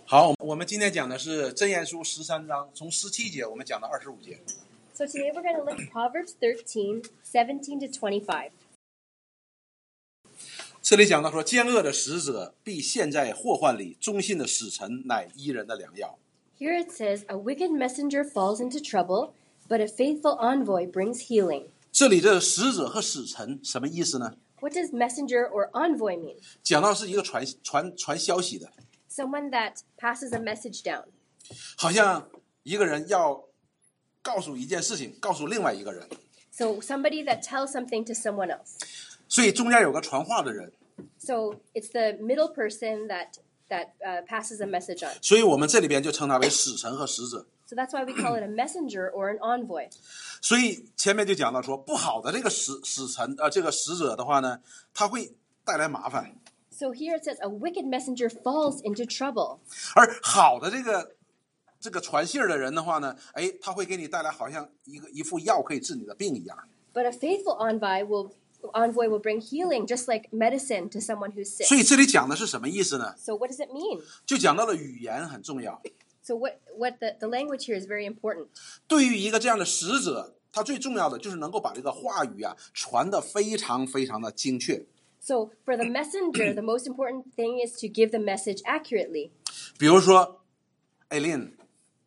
好，我们今天讲的是箴言书13章，从17节我们讲到25节。 So today we're going to look at Proverbs 13:17 to 25. 这里讲到说，奸恶的使者必陷在祸患里，忠信的使臣乃医人的良药。 Here it says, a wicked messenger falls into trouble, but a faithful envoy brings healing. 这里的使者和使臣什么意思呢？ What does messenger or envoy mean? 讲到是一个传消息的， Someone that passes a message down. 好像一个人要告诉一件事情，告诉另外一个人， So somebody that tells something to someone else. 所以中间有个传话的人， So it's the middle person that passes a message on. 所以我们这里边就称他为使臣和使者。 So that's why we call it a messenger or an envoy. 所以前面就讲到说，不好的这个使臣这个使者的话呢，他会带来麻烦。 So here it says, a wicked messenger falls into trouble. 而好的这个传信的人的话呢，他会给你带来好像一副药可以治你的病一样。 But a faithful envoy will bring healing, just like medicine to someone who's sick. 所以这里讲的是什么意思呢？ So what does it mean? 就讲到了语言很重要。 So what the language here is very important. 对于一个这样的使者，他最重要的就是能够把这个话语啊传得非常非常的精确。 So for the messenger, the most important thing is to give the message accurately. 比如说，艾琳，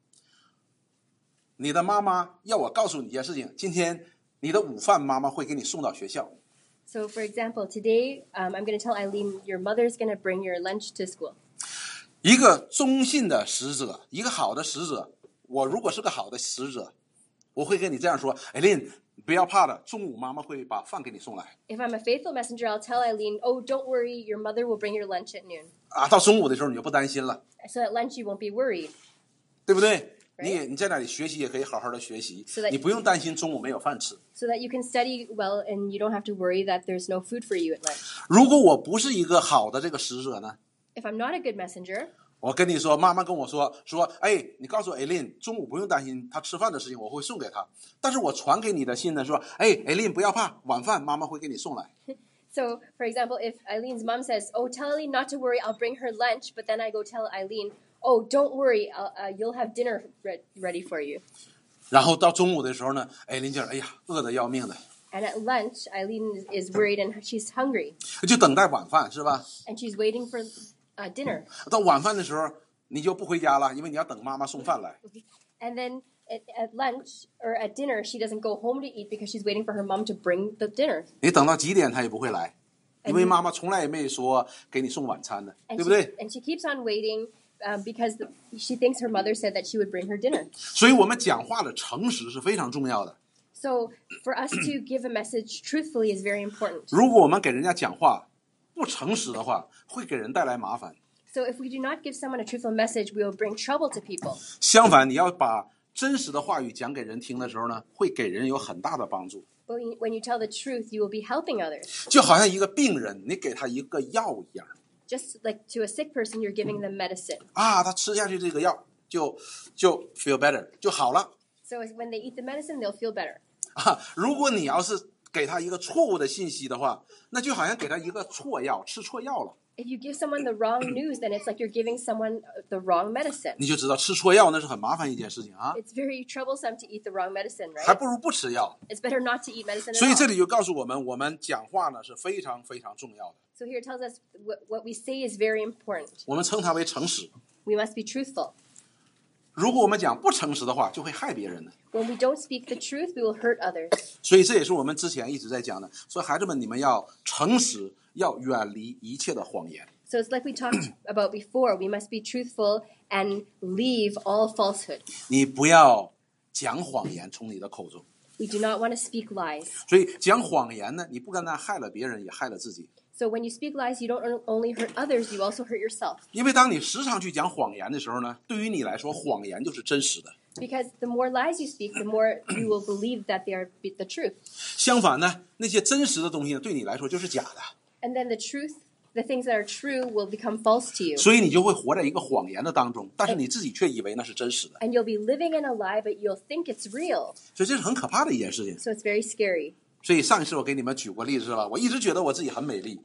你的妈妈要我告诉你一件事情，今天你的午饭妈妈会给你送到学校。 So for example, today I'm going to tell Eileen, your mother's going to bring your lunch to school. 一个忠信的使者，一个好的使者，我如果是个好的使者，我会跟你这样说，艾琳，不要怕的，中午妈妈会把饭给你送来。 If I'm a faithful messenger, I'll tell Eileen, oh, don't worry, your mother will bring your lunch at noon. 到中午的时候你就不担心了， So at lunch you won't be worried. 对不对？你在那里学习也可以好好的学习， So that- 你不用担心中午没有饭吃。 So that you can study well and you don't have to worry that there's no food for you at lunch. 如果我不是一个好的这个使者呢， If I'm not a good messenger, 我跟你说，妈妈跟我说，你告诉艾琳，中午不用担心她吃饭的事情，我会送给她。但是我传给你的信呢，说，艾琳不要怕，晚饭妈妈会给你送来。 So, for example, if Eileen's mom says, oh, tell Eileen not to worry, I'll bring her lunch, but then I go tell Eileen, oh, don't worry, you'll have dinner ready for you. 然后到中午的时候呢，艾琳就饿得要命的， And at lunch, Eileen is worried and she's hungry. 就等待晚饭是吧？ And she's waiting for dinner. 到晚饭的时候你就不回家了，因为你要等妈妈送饭来。 And then at lunch or at dinner, she doesn't go home to eat because she's waiting for her mom to bring the dinner. 你等到几点她也不会来，因为妈妈从来也没说给你送晚餐的， And 对不对？ she keeps on waiting because she thinks her mother said that she would bring her dinner. 所以我们讲话的诚实是非常重要的。 So for us to give a message truthfully is very important. 如果我们给人家讲话不诚实的话，会给人带来麻烦。 So if we do not give someone a truthful message, we will bring trouble to people. 相反，你要把真实的话语讲给人听的时候呢，会给人有很大的帮助。 But when you tell the truth, you will be helping others. 就好像一个病人，你给他一个药一样 Just like to a sick person, you're giving them medicine. 他吃下去这个药就 feel better 就好了 So when they eat the medicine, they'll feel better. 如果你要是给他一个错误的信息的话，那就好像给他一个错药，吃错药了。 If you give someone the wrong news, then it's like you're giving someone the wrong medicine. 你就知道吃错药那是很麻烦一件事情啊， It's very troublesome to eat the wrong medicine, 还 right? 不如不吃药。 It's better not to eat medicine 所以 at 这 all. 里就告诉我们，我们讲话呢是非常非常重要的。 So here it tells us what we say is very important. 我们称它为诚实。 We must be truthful. 如果我们讲不诚实的话，就会害别人的。 When we don't speak the truth, we will hurt others. 所以这也是我们之前一直在讲的，说孩子们，你们要诚实，要远离一切的谎言。 So it's like we talked about before. We must be truthful and leave all falsehood. 你不要讲谎言从你的口中。 We do not want to speak lies. 所以讲谎言呢，你不单单害了别人，也害了自己。 So when you speak lies, you don't only hurt others, you also hurt yourself. 因为当你时常去讲谎言的时候呢，对于你来说，谎言就是真实的。 Because the more lies you speak, the more you will believe that they are the truth. 相反呢，那些真实的东西呢，对你来说就是假的。 And then the things that are true will become false to you. 所以你就会活在一个谎言的当中，但是你自己却以为那是真实的。 And you'll be living in a lie, but you'll think it's real. 所以这是很可怕的一件事情。 So it's very scary. 所以上一次我给你们举过例子是吧？我一直觉得我自己很美丽，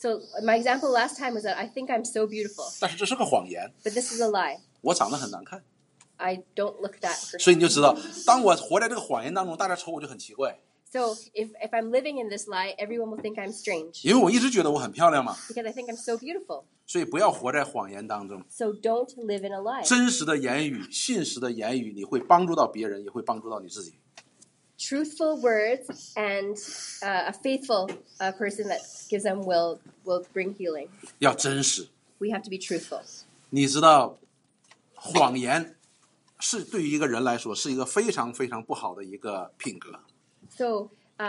So my example last time was that I think I'm so beautiful, 但是这是个谎言， but this is a lie. 我长得很难看。 I don't look that 所以 person. 你就知道，当我活在这个谎言当中，大家瞅我就很奇怪， So if I'm living in this lie, everyone will think I'm strange 因为我一直觉得我很漂亮嘛。 because I think I'm so beautiful. 所以不要活在谎言当中， So don't live in a lie. 真实的言语、信实的言语，你会帮助到别人，也会帮助到你自己。 Truthful words and a faithful person that gives them will bring healing. 要真实， We have to be truthful. 你知道，谎言是对于一个人来说是一个非常非常不好的一个品格。 So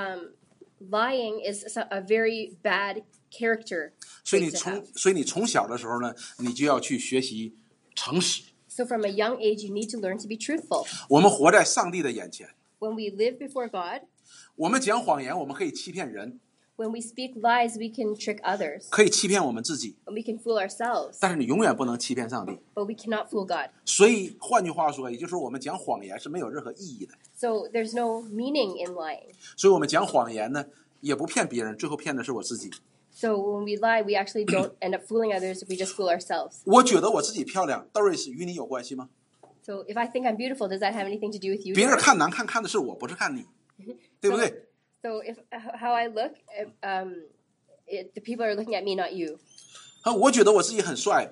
lying is a very bad character 所以 trait 你 to 从 have. 所以你从小的时候呢，你就要去学习诚实。 So from a young age, you need to learn to be truthful. 我们活在上帝的眼前， When we live before God, 我们讲谎言，我们可以欺骗人， when we speak lies, we can trick others 可以欺骗我们自己， and we can fool ourselves, 但是你永远不能欺骗上帝。 but we cannot fool God. 所以换句话说，也就是说，我们讲谎言是没有任何意义的。 So there's no meaning in lying. 所以我们讲谎言呢，也不骗别人，最后骗的是我自己。 So when we lie, we actually don't end up fooling others. We just fool ourselves. 我觉得我自己漂亮 ，Doris 与你有关系吗？ So if I think I'm beautiful, does that have anything to do with you? 别人 Doris? 看难看，看的是我，不是看你，对不对？ So if how I look, the people are looking at me, not you. 我觉得我自己很帅，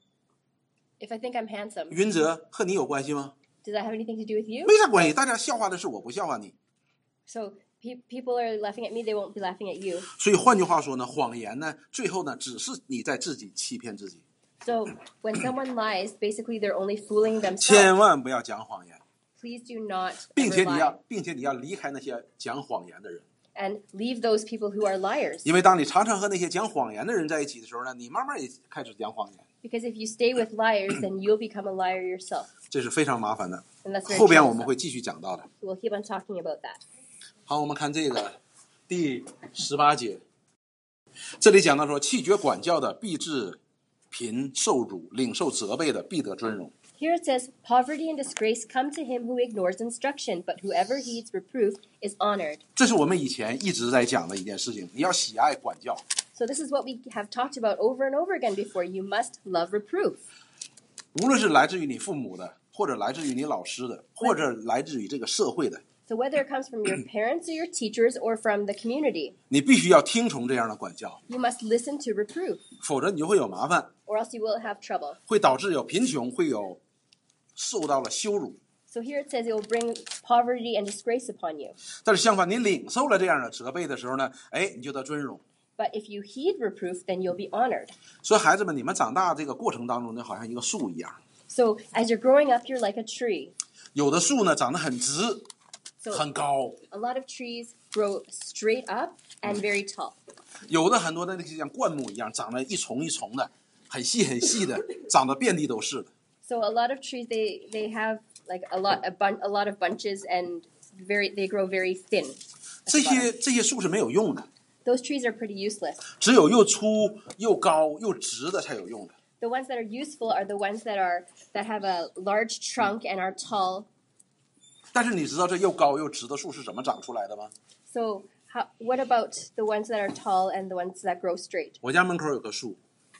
If I think I'm handsome, 云泽和你有关系吗？ does that have anything to do with you? 没啥关系，大家笑话的是我，不笑话你。 So people are laughing at me, they won't be laughing at you. 所以换句话说呢，谎言呢，最后呢，只是你在自己欺骗自己。 So when someone lies, basically they're only fooling 千 themselves. 万不要讲谎言， Please do not 并 ever 且你 lie 要，并且你要离开那些讲谎言的人， and leave those people who are liars. 因为当你常常和那些讲谎言的人在一起的时候呢，你慢慢也开始讲谎言， Because if you stay with liars, then you'll become a liar yourself. 这是非常麻烦的。 And that's very 后边我们 troublesome. 会继续讲到的。 We'll keep on talking about that. 好，我们看这个第18节，这里讲到说，弃绝管教的必致贫受辱，领受责备的必得尊荣。 Here it says, poverty and disgrace come to him who ignores instruction, but whoever heeds reproof is honored. 这是我们以前一直在讲的一件事情，你要喜爱管教。 So this is what we have talked about over and over again before. You must love reproof. 无论是来自于你父母的，或者来自于你老师的，或者来自于这个社会的， So whether it comes from your parents or your teachers or from the community, 你必须要听从这样的管教， you must listen to reproof, 否则你就会有麻烦， or else you will have trouble. 会导致有贫穷，会有受到了羞辱。 So here it says it will bring poverty and disgrace upon you. 但是相反，你领受了这样的责备的时候呢，你就得尊荣。 But if you heed reproof, then you'll be honored. 所以孩子们，你们长大这个过程当中呢，好像一个树一样， So as you're growing up, you're like a tree. 有的树呢长得很直， So 很高， a lot of trees grow straight up and very tall. 有的很多的那些像灌木一样，长得一丛一丛的，很细很细的，长得遍地都是的。 So a lot of trees they have like a lot of bunches and they grow very thin. 这些树是没有用的， Those trees are pretty useless. 只有又粗又高又直的才有用的。 The ones that are useful are the ones that have a large trunk and are tall. 但是你知道这又高又直的树是怎么长出来的吗？ So what about the ones that are tall and the ones that grow straight? 我家门口有棵树，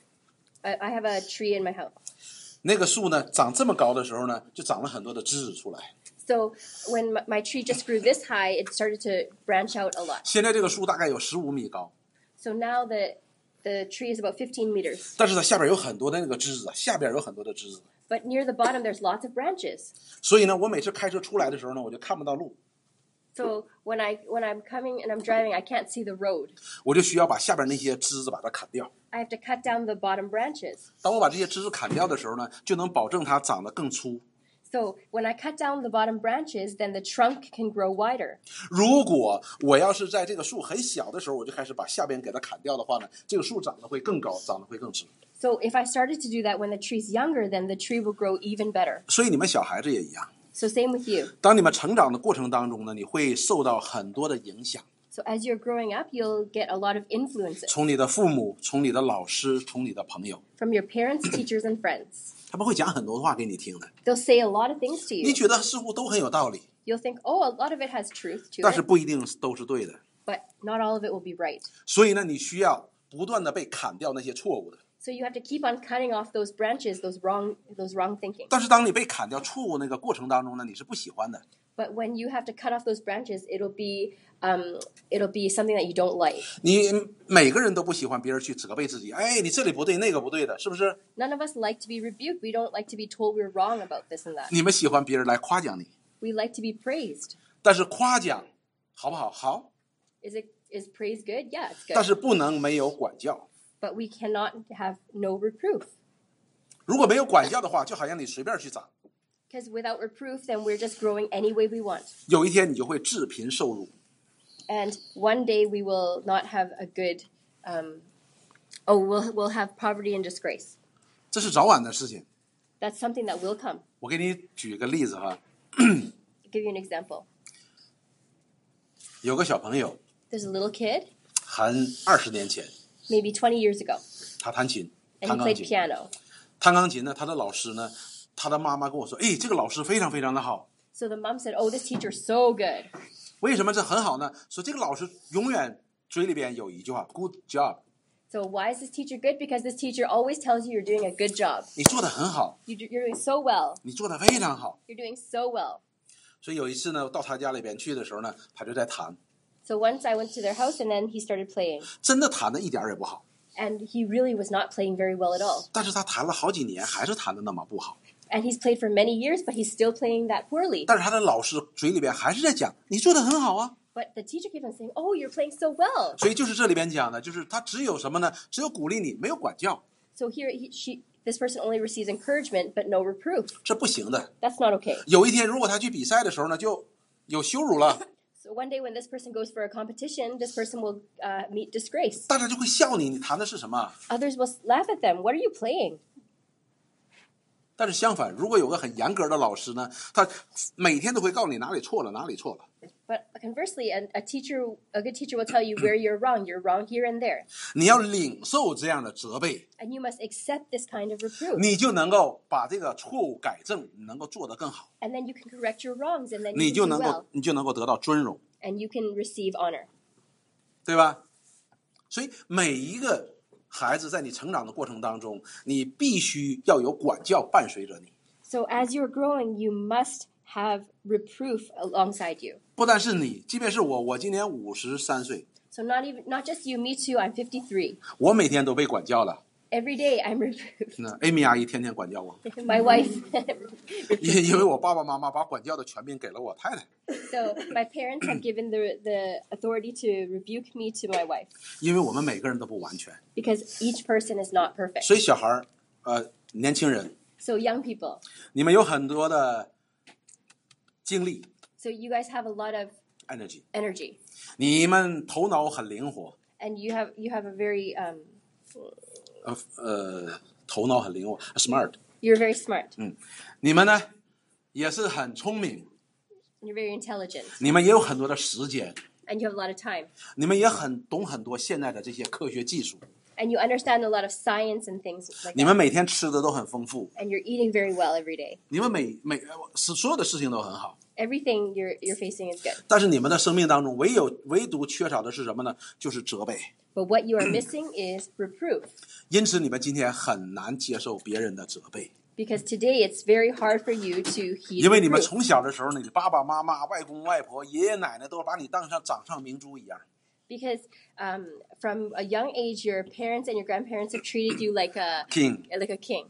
I have a tree in my house. 那个树呢长这么高的时候呢，就长了很多的枝子出来。 So when my tree just grew this high, it started to branch out a lot. 现在这个树大概有15米高， So now the tree is about 15 meters. 但是它下边有很多的那个枝子，下边有很多的枝子。 But near the bottom, there's lots of branches. 所以呢，我每次开车出来的时候呢，我就看不到路， So when I'm coming and I'm driving, I can't see the road. 我就需要把下边那些枝子把它砍掉。 I have to cut down the bottom branches. 当我把这些枝子砍掉的时候呢，就能保证它长得更粗。 So when I cut down the bottom branches, then the trunk can grow wider. 如果我要是在这个树很小的时候，我就开始把下边给它砍掉的话呢，这个树长得会更高，长得会更直。 So if I started to do that when the tree's younger, then the tree will grow even better. 所以你们小孩子也一样， So same with you. 当你们成长的过程当中呢，你会受到很多的影响， So as you're growing up, you'll get a lot of influences 从你的父母，从你的老师，从你的朋友， from your parents, teachers, and friends. 他们会讲很多话给你听的， They'll say a lot of things to 你 you. 觉得似乎都很有道理， You'll think, oh, a lot of it has truth to 但是 it, 不一定都是对的。 but not all of it will be right. 所以呢，你需要不断的被砍掉那些错误的。 So you have to keep on cutting off those branches, those wrong thinking. 但是当你被砍掉错误那个过程当中呢，你是不喜欢的。 But when you have to cut off those branches, it'll be something that you don't like. 你每个人都不喜欢别人去责备自己，哎，你这里不对，那个不对的，是不是？ None of us like to be rebuked. We don't like to be told we're wrong about this and that. 你们喜欢别人来夸奖你， We like to be praised. 但是夸奖好不好？好， Is praise good? Yeah, it's 但 good. 是不能没有管教。 But we cannot have no reproof. 如果没有管教的话，就好像你随便去长， Because without reproof, then we're just growing any way we want. 有一天你就会致贫受辱。 And one day we will not have a good, we'll have poverty and disgrace. 这是早晚的事情。 That's something that will come. 我给你举个例子哈， I'll give you an example. 有个小朋友， There's a little kid, 很20年前， maybe 20 years ago, 他弹琴， and 弹 he 钢 played 琴。 piano. 弹钢琴呢，他的老师呢，他的妈妈跟我说，哎，这个老师非常非常的好。 So the mom said, "Oh, this teacher's so good." 为什么这很好呢？说这个老师永远嘴里边有一句话 ，good job， So why is this teacher good? Because this teacher always tells you you're doing a good job. 你做的很好， You're doing so well. 你做的非常好。 You're doing so well. 所以有一次呢，到他家里边去的时候呢，他就在弹， So once I went to their house and then he started playing. 真的弹的一点儿也不好。 And he really was not playing very well at all. 但是他弹了好几年，还是弹的那么不好。 And he's played for many years, but he's still playing that poorly. 但是他的老师嘴里边还是在讲，你做的很好啊。 But the teacher keeps on saying, "Oh, you're playing so well." 所以就是这里边讲的，就是他只有什么呢？只有鼓励你，没有管教， So here, this person only receives encouragement, but no reproof. 这不行的。 That's not okay. 有一天，如果他去比赛的时候呢，就有羞辱了， So one day when this person goes for a competition, this person will meet disgrace. 大家就会笑你，你弹的是什么？ Others will laugh at them. What are you playing? 但是相反，如果有个很严格的老师呢，他每天都会告诉你哪里错了，哪里错了。 But conversely, a good teacher will tell you where you're wrong. You're wrong here and there. 你要领受这样的责备， And you must accept this kind of reproof. 你就能够把这个错误改正，你能够做得更好， And then you can correct your wrongs, and then 你 you 就 can 能 do 够 well. 你就能够得到尊荣， And you can receive honor. 对吧？所以每一个孩子在你成长的过程当中，你必须要有管教伴随着你。 So as you're growing, you must have reproof alongside you. 不但是你，即便是我今年53岁， So not just you, me too. I'm 53. 我每天都被管教了。 Every day I'm reproved. 那 Amy 阿姨天天管教我， My wife. 因为我爸爸妈妈把管教的权柄给了我太太， So my parents have given the authority to rebuke me to my wife 因为我们每个人都不完全， because each person is not perfect. 所以小孩儿，年轻人， So young people. 你们有很多的精力 So you guys have a lot of energy， energy, 你们头脑很灵活， and you have a very 头脑很灵活 ，smart， you're very smart. 你们呢也是很聪明， You're very intelligent, 你们也有很多的时间， and you have a lot of time, 你们也懂很多现在的这些科学技术， and you understand a lot of science and things like 你 that. 们每天吃的都很丰富， And you're eating very well every day. 你们所有的事情都很好。 Everything you're facing is good. 但是你们的生命当中唯独缺少的是什么呢？就是责备。 But what you are missing is reproof. 因此，你们今天很难接受别人的责备， Because today it's very hard for you to heed 因为你们 reproof. 从小的时候呢，你爸爸妈妈、外公外婆、爷爷奶奶都把你当成掌上明珠一样。 Because from a young age, your parents and your grandparents have treated you like a King， king.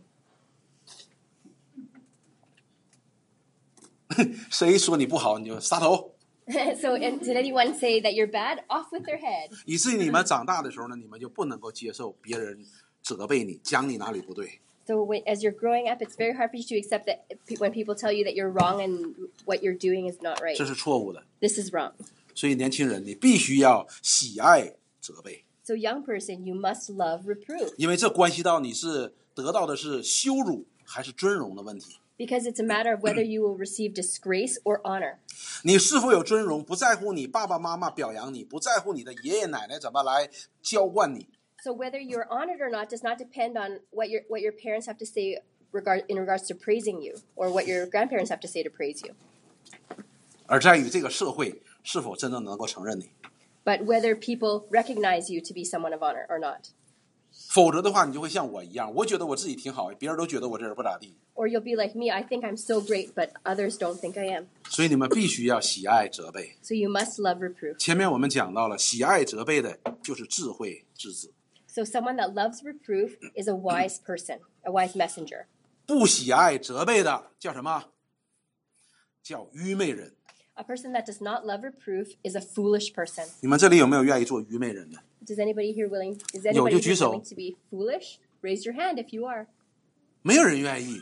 谁说你不好，你就杀头。 So did anyone say that you're bad? Off with their head. 以至于你们长大的时候呢，你们就不能够接受别人责备你，讲你哪里不对。 So as you're growing up, it's very hard for you to accept that when people tell you that you're wrong and what you're doing is not right. 这是错误的。 This is wrong. 所以年轻人，你必须要喜爱责备， So young person, you must love reproof 因为这关系到你是得到的是羞辱还是尊荣的问题。 because it's a matter of whether you will receive disgrace or honor. 你是否有尊荣，不在乎你爸爸妈妈表扬你，不在乎你的爷爷奶奶怎么来浇灌你， So whether you're honored or not does not depend on what your parents have to say in regards to praising you or what your grandparents have to say to praise you. 而在于这个社会是否真正能够承认你。 but whether people recognize you to be someone of honor or not. 否则的话，你就会像我一样，我觉得我自己挺好，别人都觉得我这人不咋地。 Or you'll be like me, I think I'm so great, but others don't think I am. 所以你们必须要喜爱责备。 So you must love reproof. 前面我们讲到了，喜爱责备的就是智慧之子。 So someone that loves reproof is a wise person, a wise messenger. 不喜爱责备的叫什么？叫愚昧人。 A person that does not love reproof is a foolish person. 你们这里有没有愿意做愚昧人的？ Is anybody here willing to be foolish? Raise your hand if you are. 没有人愿意。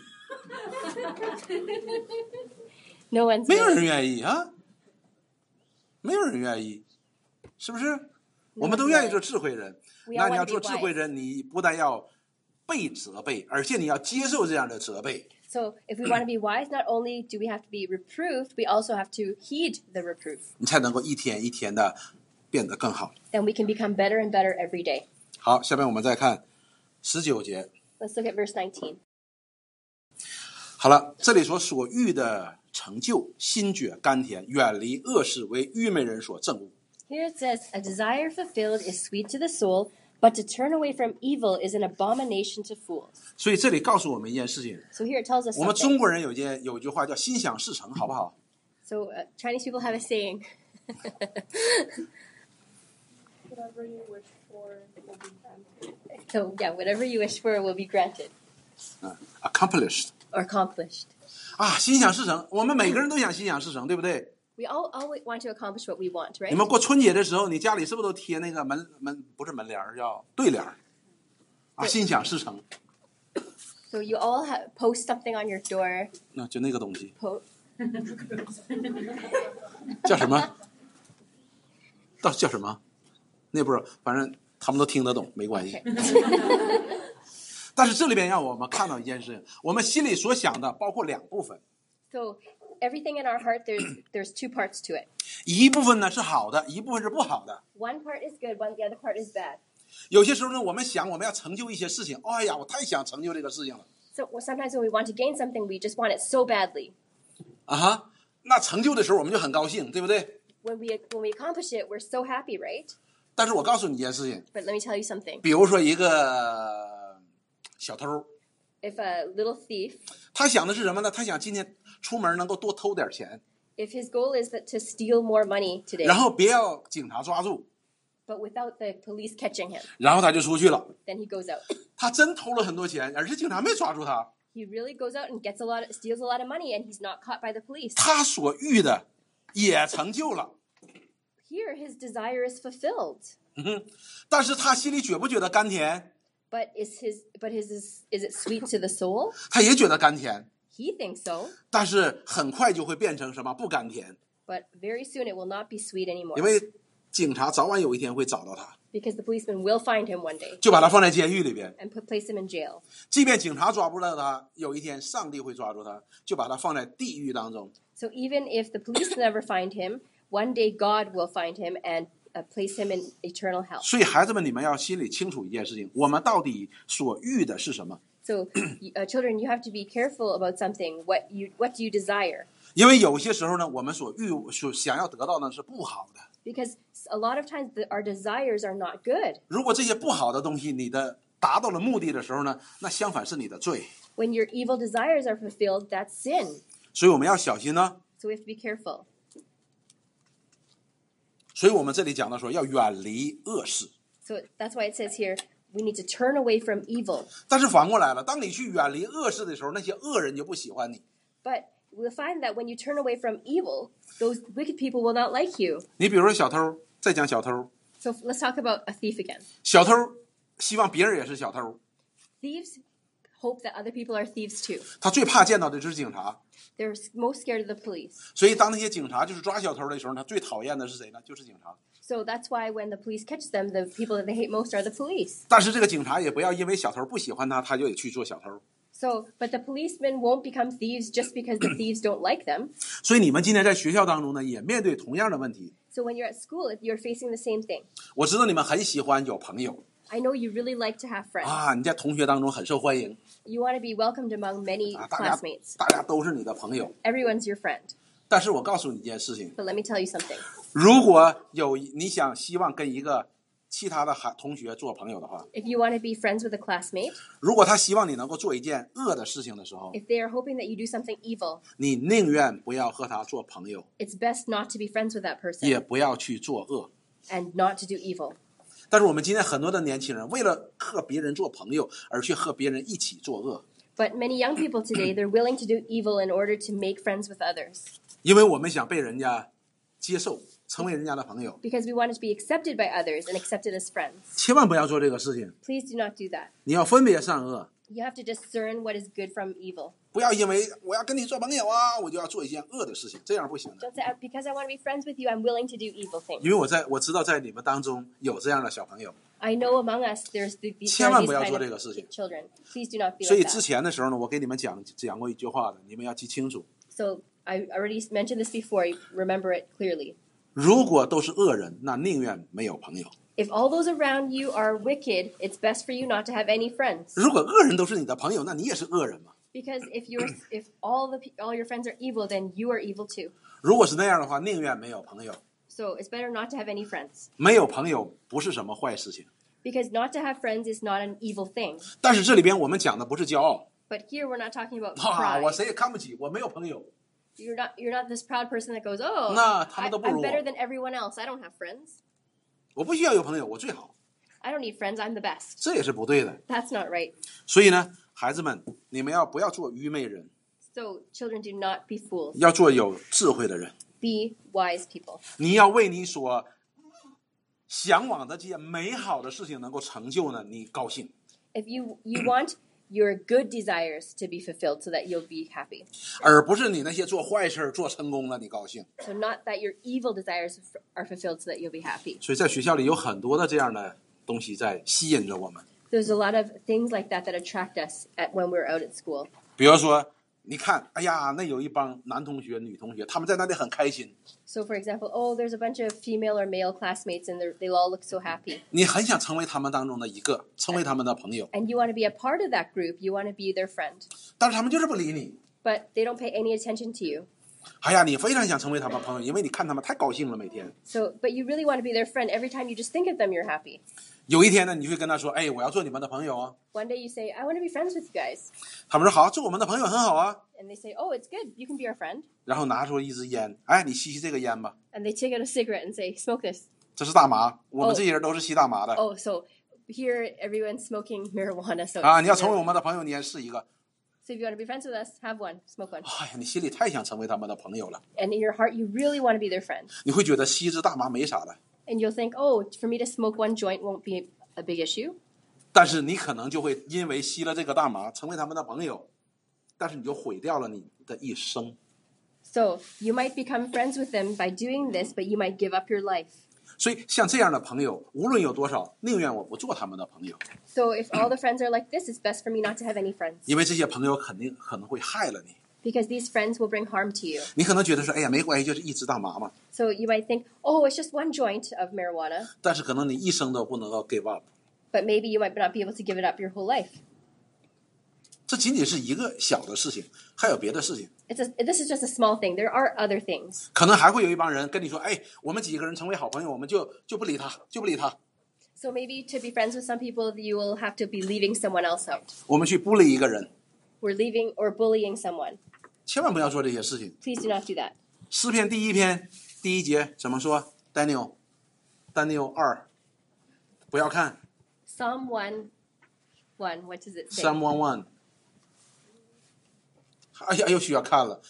No one's 没有 willing. 人愿意啊，没有人愿意，是不是？我们都愿意做智慧人。那你要做智慧人，你不但要被责备，而且你要接受这样的责备。 So if we want to be wise, not only do we have to be reproved, we also have to heed the reproof. 你才能够一天一天的变得更好。 Then we can become better and better every day. 好，下面我们再看19节。 Let's look at verse 19. 好了，这里所欲的成就，心觉甘甜，远离恶事，为愚昧人所憎恶。 Here it says, a desire fulfilled is sweet to the soul, but to turn away from evil is an abomination to fools. 所以这里告诉我们一件事情。 So here it tells us 我们中 something. 国人有一句话叫心想事成，好不好？ So Chinese people have a saying. Whatever you wish for will be granted. So yeah, whatever you wish for will be granted accomplished or accomplished. 啊，心想事成，我们每个人都想心想事成，对不对？ We all want to accomplish what we want, 你 right? 们过春节的时候，你家里是不是都贴那个不是门帘儿，叫对联儿啊？心想事成， So you all post something on your door. 那就那个东西 Post. 叫什么？到底叫什么？那不知道，反正他们都听得懂，没关系。但是这里边让我们看到一件事情，我们心里所想的包括两部分， So everything in our heart, there's two parts to it. 一部分呢是好的，一部分是不好的。 One part is good, the other part is bad. 有些时候呢，我们想我们要成就一些事情，哎呀，我太想成就这个事情了 So sometimes when we want to gain something, we just want it so badly. 啊哈，那成就的时候我们就很高兴，对不对？ When we accomplish it, we're so happy, right? 但是我告诉你一件事情， But let me tell you something. 比如说一个小偷， If a little thief, 他想的是什么呢？他想今天出门能够多偷点钱， if his goal is to steal more money today, 然后别要警察抓住， but without the police catching him, 然后他就出去了。 then he goes out. 他真偷了很多钱，而且警察没抓住他。 He really goes out and steals a lot of money, and he's not caught by the police. 他所欲的也成就了， Here, his desire is fulfilled. 但是他心里觉不觉得甘甜？ But is it sweet to the soul? 他也觉得甘甜， He thinks so, 但是很快就会变成什么？不甘甜， but very soon it will not be sweet 因 anymore 为警察早晚有一天会找到他， because the policeman will find him one day 就把他放在监狱里边。 and place him in jail. 即便警察抓不到他，有一天上帝会抓住他，就把他放在地狱当中。 So even if the police never find him, one day God will find him and place him in eternal hell. 所以孩子们，你们要心里清楚一件事情：我们到底所欲的是什么？ So children, you have to be careful about something. What do you desire? 因为有些时候呢，我们所想要得到的是不好的。 Because a lot of times our desires are not good. 如果这些不好的东西你的达到了目的的时候呢，那相反是你的罪。 When your evil desires are fulfilled, that's sin. 所以我们要小心呢。 So we have to be careful. 所以我们这里讲到说要远离恶事。 So that's why it says here, we need to turn away from evil. 但是反过来了，当你去远离恶事的时候，那些恶人就不喜欢你。 But we'll find that when you turn away from evil, those wicked people will not like you. 你比如说小偷，再讲小偷， So let's talk about a thief again. 小偷希望别人也是小偷， Thieves hope that other people are thieves too. 他最怕见到的就是警察。 They're most scared of the police. 所以当那些警察就是抓小偷的时候，他最讨厌的是谁呢？就是警察。 So that's why when the police catches them, the people that they hate most are the police. 但是这个警察也不要因为小偷不喜欢他，他就得去做小偷。 So, but the policemen won't become thieves just because the thieves don't like them. 所以你们今天在学校当中呢，也面对同样的问题。 So when you're at school, you're facing the same thing. 我知道你们很喜欢有朋友 I know you really like to have friends. 啊，你在同学当中很受欢迎 You want to be welcomed among many 啊，大家都是你的朋友。 Everyone's your friend. 但是我告诉你一件事情， But let me tell you something. 如果你希望跟一个其他的同学做朋友的话， If you want to be friends with a classmate, 如果他希望你能够做一件恶的事情的时候， if they are hoping that you do something evil, 你宁愿不要和他做朋友， it's best not to be friends with that 也 person 不要去做恶。 and not to do evil. 但是我们今天很多的年轻人为了和别人做朋友而去和别人一起作恶， But many young people today, they're willing to do evil in order to make friends with others 因为我们想被人家接受，成为人家的朋友。 because we want to be accepted by others and accepted as friends. 千万不要做这个事情， Please do not do that. 你要分别善恶， You have to discern what is good from evil. 不要因为我要跟你做朋友啊，我就要做一件恶的事情，这样不行的。 Don't say, because I want to be friends with you, I'm willing to do evil 因 things. 为我知道在你们当中有这样的小朋友， I know among us there's these 千万不要 kind 做这个事情。 of children. Please do not be 所以 like 之 that. 前的时候呢，我给你们讲过一句话的，你们要记清楚。 So I already mentioned this before. Remember it clearly. 如果都是恶人，那宁願沒有朋友； If all those around you are wicked, it's best for you not to have any friends. 如果惡人都是你的朋友，那你也是惡人嘛。 Because if all your friends are evil, then you are evil too. 如果是那樣的話，寧願沒有朋友。 So it's better not to have any friends. 沒有朋友不是什麼壞事情， Because not to have friends is not an evil thing. 但是這裡邊我們講的不是驕傲 But here we're not talking about 啊，我 pride. 誰也看不起，我沒有朋友。 You're not this proud person that goes, oh, 那他們都不如我。 I'm better than everyone else. I don't have friends. 我不需要有朋友，我最好， I don't need friends. I'm the best. 這也是不對的。 That's not right. 所以呢，孩子們，你們不要做愚昧人， So children, do not be fools. 要做有智慧的人。 Be wise people. 你要為你所向往的這些美好的事情能夠成就呢，你高興。 If you want your good desires to be fulfilled so that you'll be happy. 而不是你那些做坏事做成功了你高興。 So not that your evil desires are fulfilled so that you'll be happy. 所以在学校里有很多的这样的东西在吸引着我们。 There's a lot of things like that that attract us when we're out at school. 比如说，你看，哎呀，那有一帮男同学、女同学，他们在那里很開心， So for example, oh, there's a bunch of female or male classmates and they all look so happy. 你很想成為他們當中的一個，成為他們的朋友， And you want to be a part of that group. You want to be their friend. 但是他們就是不理你。 But they don't pay any attention to you. 哎呀，你非常想成為他們朋友，因為你看他們太高興了，每天。 So, but you really want to be their friend. Every time you just think of them, you're happy. 有一天呢，你會跟他說：“哎，我要做你們的朋友啊。 One day you say, I want to be friends with you guys. ” 他們說：“好，做我們的朋友很好啊。 And they say, oh, it's good. You can be our friend. ” 然後拿出一支煙，哎，你吸吸這個煙吧， And they take out a cigarette and say, smoke this. 這是大麻，我們這些人都是吸大麻的。 Oh, so here everyone's smoking marijuana. So, 啊，你要成為我們的朋友，你也試一個。 so if you want to be friends with us, have one, smoke one. 哎呀，你心裡太想成為他們的朋友了， And in your heart, you really want to be their friend. 你會覺得吸支大麻沒啥的， And you'll think, oh, for me to smoke one joint won't be a big issue. 但是你可能就會因為吸了這個大麻，成為他們的朋友，但是你就毀掉了你的一生。 So you might become friends with them by doing this, but you might give up your life. 所以像這樣的朋友，無論有多少，寧願我不做他們的朋友， So if all the friends are like this, it's best for me not to have any friends. 因為這些朋友可能會害了你。 Because these friends will bring harm to you. 你可能覺得說，哎呀，沒關係，就是一支大麻嘛， So you might think, oh, it's just one joint of marijuana, 但是可能你一生都不能夠 give up。 but maybe you might not be able to give it up your whole life. 這僅僅是一個小的事情，還有別的事情， This is just a small thing. There are other things. 可能還會有一幫人跟你說，哎，我們幾個人成為好朋友，我們就不理他，就不理他， So maybe to be friends with some people, you will have to be leaving someone else out. 我們去孤立一個人， We're leaving or bullying someone. 千萬不要做這些事情。 Please do not do that. 詩篇第1篇第1節怎麼說 ？Daniel 2，不要看 Psalm 1:1. What does it say? Psalm 1:1。哎呀，又需要看了。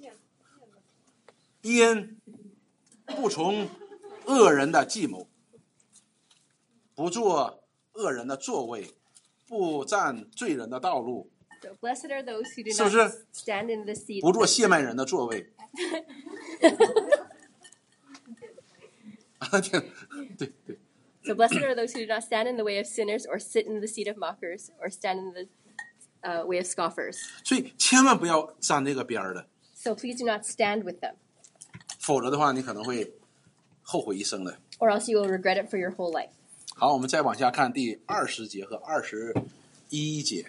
因不從惡人的計謀，不做惡人的座位，不站罪人的道路， So blessed are those who do 是不 not 是？ stand in the seat. 不做褻慢人的座位。對對。 So blessed are those who do not stand in the way of sinners, or sit in the seat of mockers, or stand in the way of scoffers. 所以千萬不要站這個邊兒的， So please do not stand with them, 否則的話，你可能會後悔一生的。 or else you will regret it for your whole life. 好，我們再往下看第20節和21節。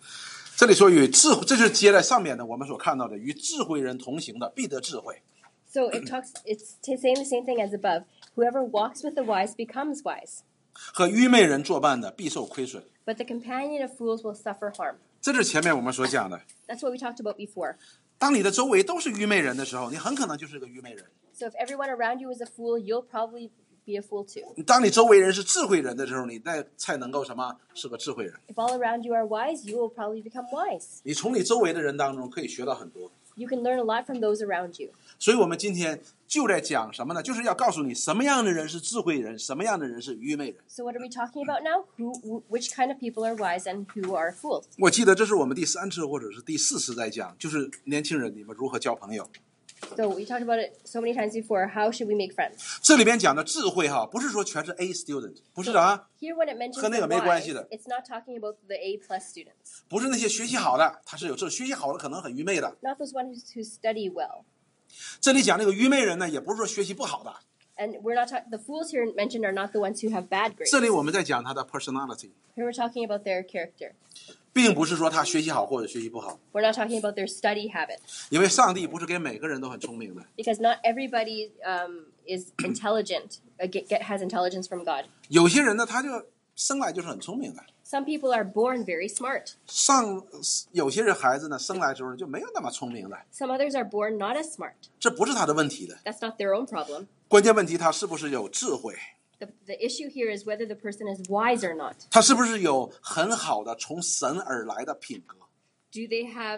這裡說與智慧，這就是接在上面的我們所看到的，與智慧人同行的必得智慧。 So it's saying the same thing as above. Whoever walks with the wise becomes wise. 和愚昧人作伴的必受亏损。 But the companion of fools will suffer harm. 这是前面我们所讲的。 That's what we talked about before. 当你的周围都是愚昧人的时候，你很可能就是个愚昧人。 So if everyone around you is a fool, you'll probably be a fool too. 当你周围人是智慧人的时候，你才能够什么？是个智慧人。 If all around you are wise, you will probably become wise. 你从你周围的人当中可以学到很多。 You can learn a lot from those around you. 所以我们今天就在讲什么呢？就是要告诉你什么样的人是智慧人，什么样的人是愚昧人。 So what are we talking about now? Which kind of people are wise and who are fools? 我记得这是我们第3次或者是第4次在讲，就是年轻人你们如何交朋友。 So we talked about it so many times before. How should we make friends? 这里边讲的智慧哈，不是说全是 A student， 不是的啊， Here when it mentions 和那个 the 没关 wise, 系的。 it's not talking about the A+ students. 不是那些学习好的，他是有这学习好的可能很愚昧的。 Not those ones who study well. 这里讲那个愚昧人呢，也不是说学习不好的。 And we're not the fools here mentioned are not the ones who have bad grades. 这里我们在讲他的 personality， Here we're talking about their character. 并不是说他学习好或者学习不好， We're not talking about their study habit. 因为上帝不是给每个人都很聪明的。 Because not everybody is intelligent, has intelligence from God. 有些人呢，他就生来就是很聪明的。 Some people are born very smart. 有些人孩子呢，生来之后就没有那么聪明的， Some others are born not as smart. 这不是他的问题的。 That's not their own problem. 关键问题他是不是有智慧， The issue here is whether the person is wise or not. 他是不是有很好的从神而来的品格。 Do they have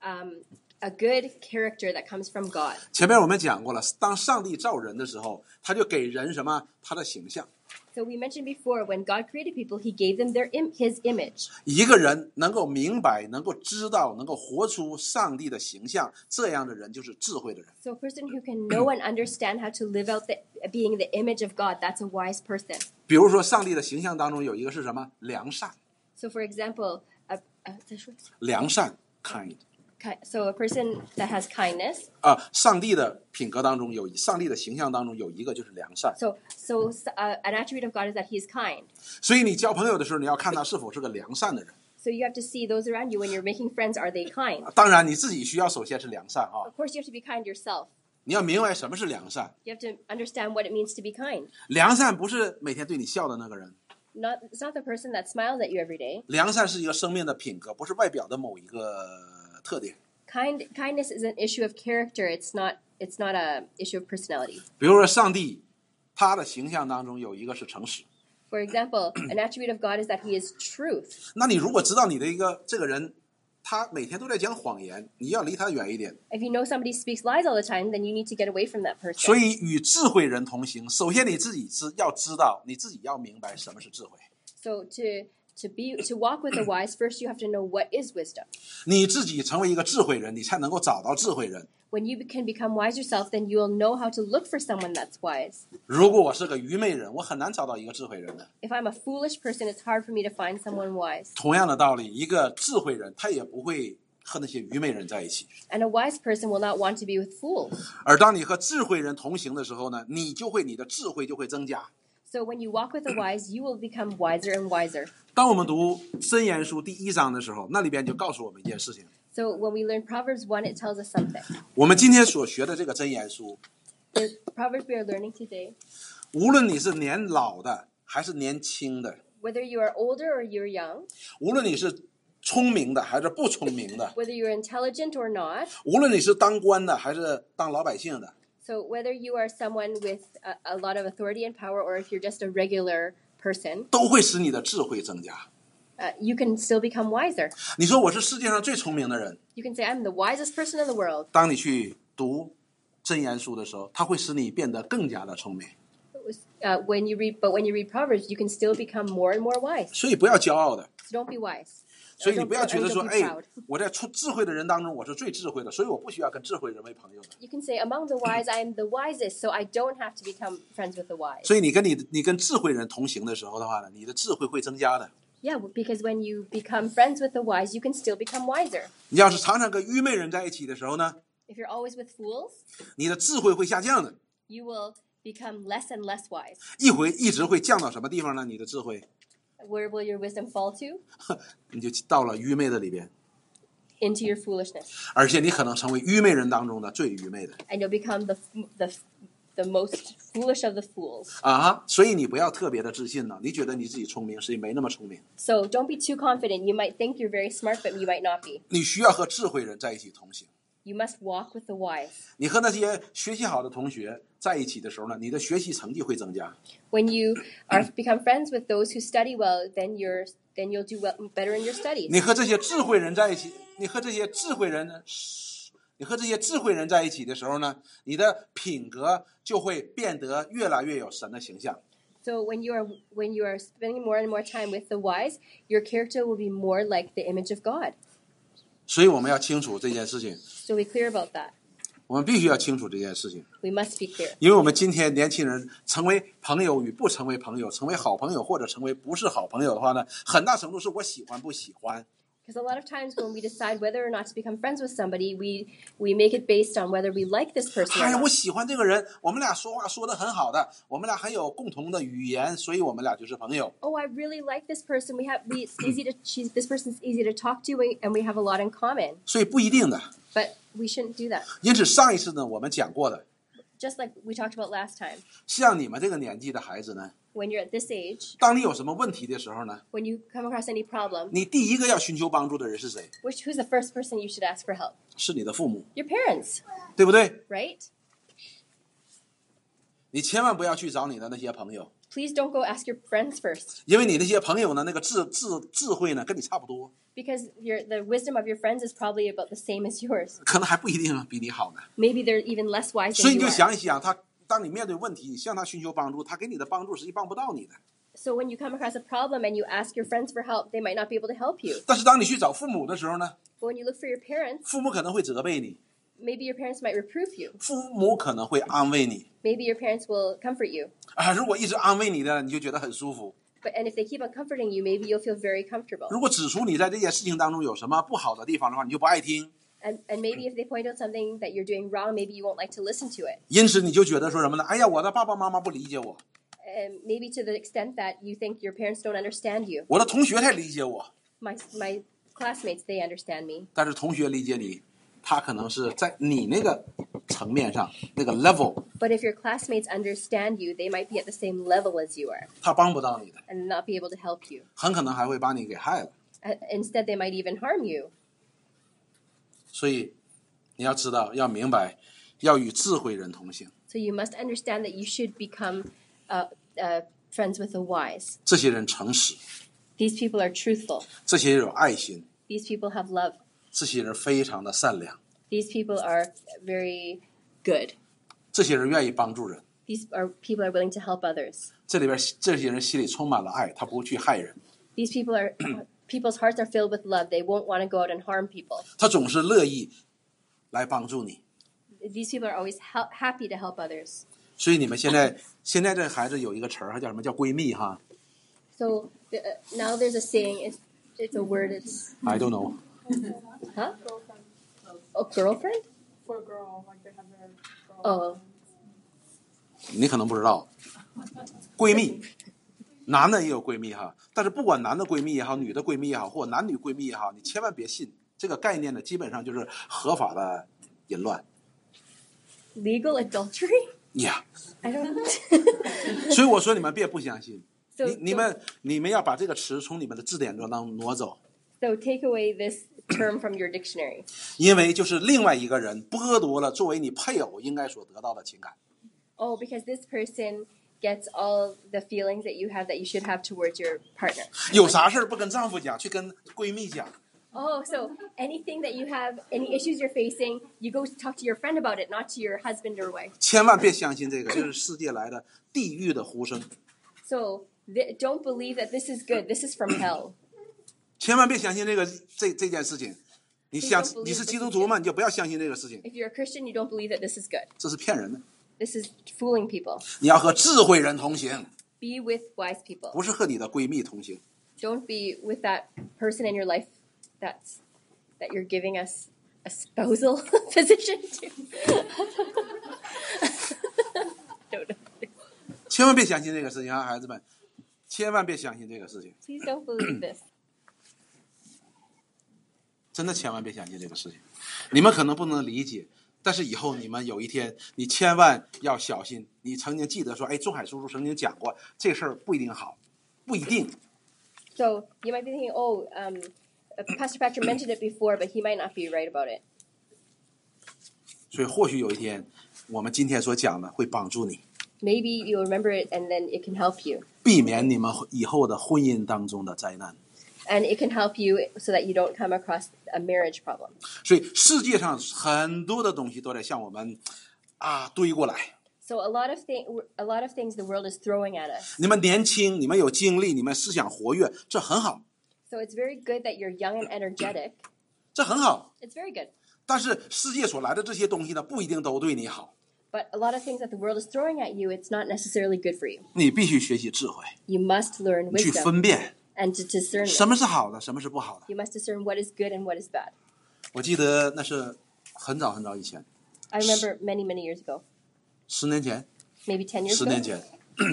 a good character that comes from God? 前面我们讲过了，当上帝造人的时候，他就给人什么？他的形象。 So we mentioned before, when God created people, He gave them His image. 一个人能够明白、能够知道、能够活出上帝的形象，这样的人就是智慧的人。 So a person who can know and understand how to live out being the image of God, that's a wise person. 比如说，上帝的形象当中有一个是什么？良善， So for example, 良善 kind。 so a person that has kindness. 上帝的品格当中上帝的形象当中有一个就是良善。 So an attribute of God is that He is kind. 所以你交朋友的时候，你要看他是否是个良善的人。 So you have to see those around you when you're making friends, are they kind? 当然，你自己需要首先是良善啊， Of course, you have to be kind yourself. 你要明白什么是良善。 You have to understand what it means to be kind. 良善不是每天对你笑的那个人， It's not the person that smiles at you every day. 良善是一个生命的品格，不是外表的某一个特点。 Kindness is an issue of character. It's not a issue of personality. 比如说，上帝他的形象当中有一个是诚实。 For example, an attribute of God is that He is truth. 那你如果知道你的这个人，他每天都在讲谎言，你要离他远一点。 If you know somebody speaks lies all the time, then you need to get away from that person. 所以与智慧人同行，首先你自己要知道，你自己要明白什么是智慧。 So to walk with the wise, first you have to know what is wisdom. 你自己成为一个智慧人，你才能够找到智慧人。 When you can become wise yourself, then you will know how to look for someone that's wise. 如果我是个愚昧人，我很难找到一个智慧人的。 If I'm a foolish person, it's hard for me to find someone wise. 同样的道理，一个智慧人他也不会和那些愚昧人在一起。 And a wise person will not want to be with fools. 而当你和智慧人同行的时候呢，你的智慧就会增加。 So when you walk with the wise, you will become wiser and wiser. 当我们读箴言书第1章的时候，那里边就告诉我们一件事情。 So when we learn Proverbs 1, it tells us something. 我们今天所学的这个箴言书， The Proverbs we are learning today, 无论你是年老的还是年轻的， whether you are older or you're young, 无论你是聪明的还是不聪明的， whether you're intelligent or not, 无论你是当官的还是当老百姓的， so whether you are someone with a lot of authority and power or if you're just a regular person, 都会使你的智慧增加。 you can still become wiser. 你说我是世界上最聪明的人， You can say, I'm the wisest person in the world. 当你去读箴言书的时候，它会使你变得更加的聪明。 When you read Proverbs, you can still become more and more wise. 所以不要骄傲的， So don't be wise. 所以你不要觉得说， Don't be 哎 proud.， 我在智慧的人当中我是最智慧的，所以我不需要跟智慧人为朋友的。 You can say, among the wise, I am the wisest, so I don't have to become friends with the wise. 所以你跟智慧人同行的时候的话呢，你的智慧会增加的。 Yeah, because when you become friends with the wise, you can still become wiser. 你要是常常跟愚昧人在一起的时候呢， If you're always with fools, 你的智慧会下降的， you will become less and less wise. 一直会降到什么地方呢？你的智慧， Where will your wisdom fall to? 你就到了愚昧的里边。 into your foolishness. 而且你可能成为愚昧人当中的最愚昧的 And you'll become the most foolish of the fools. 所以你不要特别的自信呢，你觉得你自己聪明，实际没那么聪明。 So don't be too confident. You might think you're very smart, but you might not be. 你需要和智慧人在一起同行。 You must walk with the wise. 你和那些学习好的同学在一起的时候呢，你的学习成绩会增加。 When you become friends with those who study well, then you'll do better in your studies. 你和这些智慧人在一起，你和这些智慧人在一起的时候呢，你的品格就会变得越来越有神的形象。 So when you are spending more and more time with the wise, your character will be more like the image of God. 所以我们要清楚这件事情， So be clear about that. 我们必须要清楚这件事情， We must be clear. 因为我们今天年轻人成为朋友与不成为朋友，成为好朋友或者成为不是好朋友的话呢，很大程度是我喜欢不喜欢。 Because a lot of times when we decide whether or not to become friends with somebody, we make it based on whether we like this person or 哎呀，我 not. 喜欢这个人，我们俩说话说得很好的，我们俩很有共同的语言，所以我们俩就是朋友。 Oh, I really like this person. This person's easy to talk to, and we have a lot in common. 所以不一定的。 But we shouldn't do that. 因此上一次呢，我们讲过的， Just like we talked about last time. 像你们这个年纪的孩子呢， When you're at this age, 当你有什么问题的时候呢， when you come across any problem, 你第一个要寻求帮助的人是谁？ who's the first person you should ask for help? 是你的父母， Your parents, 对不对？ right? 你千万不要去找你的那些朋友， Please don't go ask your friends first, 因为你那些朋友呢，那个智慧呢，跟你差不多， because the wisdom of your friends is probably about the same as yours. 可能还不一定比你好呢。 Maybe they're even less wise 所以 than 你 you 就 are. 想一想，当你面对问题，你向他寻求帮助，他给你的帮助实际帮不到你的。 So when you come across a problem and you ask your friends for help, they might not be able to help you. 但是当你去找父母的时候呢， But when you look for your parents, 父母可能会责备你， maybe your parents might reprove you. 父母可能会安慰你。 Maybe your parents will comfort you. 如果一直安慰你的，你就觉得很舒服。 And if they keep on comforting you, maybe you'll feel very comfortable. 如果指出你在这件事情当中有什么不好的地方的话，你就不爱听。 And maybe if they point out something that you're doing wrong, maybe you won't like to listen to it. 因此你就觉得说什么呢？哎呀，我的爸爸妈妈不理解我， And maybe to the extent that you think your parents don't understand you. 我的同学才理解我。 My classmates, they understand me. 但是同学理解你，他可能是在你那个层面上那个 level， But if your classmates understand you, they might be at the same level as you are 他帮不到你的， and not be able to help you. 很可能还会把你给害了。 Instead, they might even harm you. 所以你要知道，要明白，要与智慧人同行。 So you must understand that you should become friends with the wise. 这些人诚实， These people are truthful. 这些人有爱心， These people have love. 这些人非常的善良， These people are very good. 这些人愿意帮助人。 These people are willing to help others. 这里边这些人心里充满了爱，他不会去害人， These people are people's hearts are filled with love. They won't want to go out and harm people. 他总是乐意来帮助你。 These people are always happy to help others. 所以你们现在这孩子有一个词儿，叫什么叫闺蜜哈 So now there's a saying. It's a word. It's ？I don't know。 huh? Girlfriend. Oh, girlfriend. For a girl, like they have their girl. Oh. 你可能不知道，闺蜜，男的也有闺蜜哈，但是不管男的闺蜜也好，女的闺蜜也好，或男女闺蜜也好，你千万别信这个概念呢，基本上就是合法的淫乱 Legal adultery? 呀。 I don't know. 所以我说你们别不相信， So 你们要把这个词从你们的字典中当挪走， So take away this term from your dictionary. 因为就是另外一个人剥夺了作为你配偶应该所得到的情感。 Oh, because this person gets all the feelings that you should have towards your partner. 有啥事儿不跟丈夫讲，去跟闺蜜讲。 Oh, so anything that you have, any issues you're facing, you go talk to your friend about it, not to your husband or wife. 千万别相信这个，这是世界来的地狱的呼声。 So don't believe that this is good. This is from hell. 千万别相信这件事情。你是基督徒嘛，你就不要相信这个事情， If you're a Christian, you don't believe that this is good. 这是骗人的。 This is fooling people. 你要和智慧人同行， Be with wise people. 不是和你的闺蜜同行。 Don't be with that person in your life that you're giving us a spousal position to. Don't. 千万别相信这个事情啊，孩子们，千万别相信这个事情。 Please don't believe this. 真的千万别相信这个事情。你们可能不能理解，但是以后你们有一天，你千万要小心。你曾经记得说，哎，仲海叔叔曾经讲过，这事儿不一定好，不一定。 So you might be thinking, oh, Pastor Patrick mentioned it before, but he might not be right about it. 所以或许有一天，我们今天所讲的会帮助你， Maybe you'll remember it and then it can help you. 避免你们以后的婚姻当中的灾难。 And it can help you so that you don't come across a marriage problem. 所以世界上很多的东西都在向我们堆过来。 So a lot of things the world is throwing at us. 你们年轻，你们有精力，你们思想活跃，这很好， So it's very good that you're young and energetic. 这很好。 It's very good. 但是世界所来的这些东西呢，不一定都对你好。 But a lot of things that the world is throwing at you, it's not necessarily good for you. 你必须学习智慧， You must learn 去 wisdom 分辨 and to discern 什 it. 么是好的，什么是不好的。 You must discern what is good and what is bad. 我记得那是很早很早以前， I remember many, many years ago, 10年前 maybe 10 years ，10 ago. 年前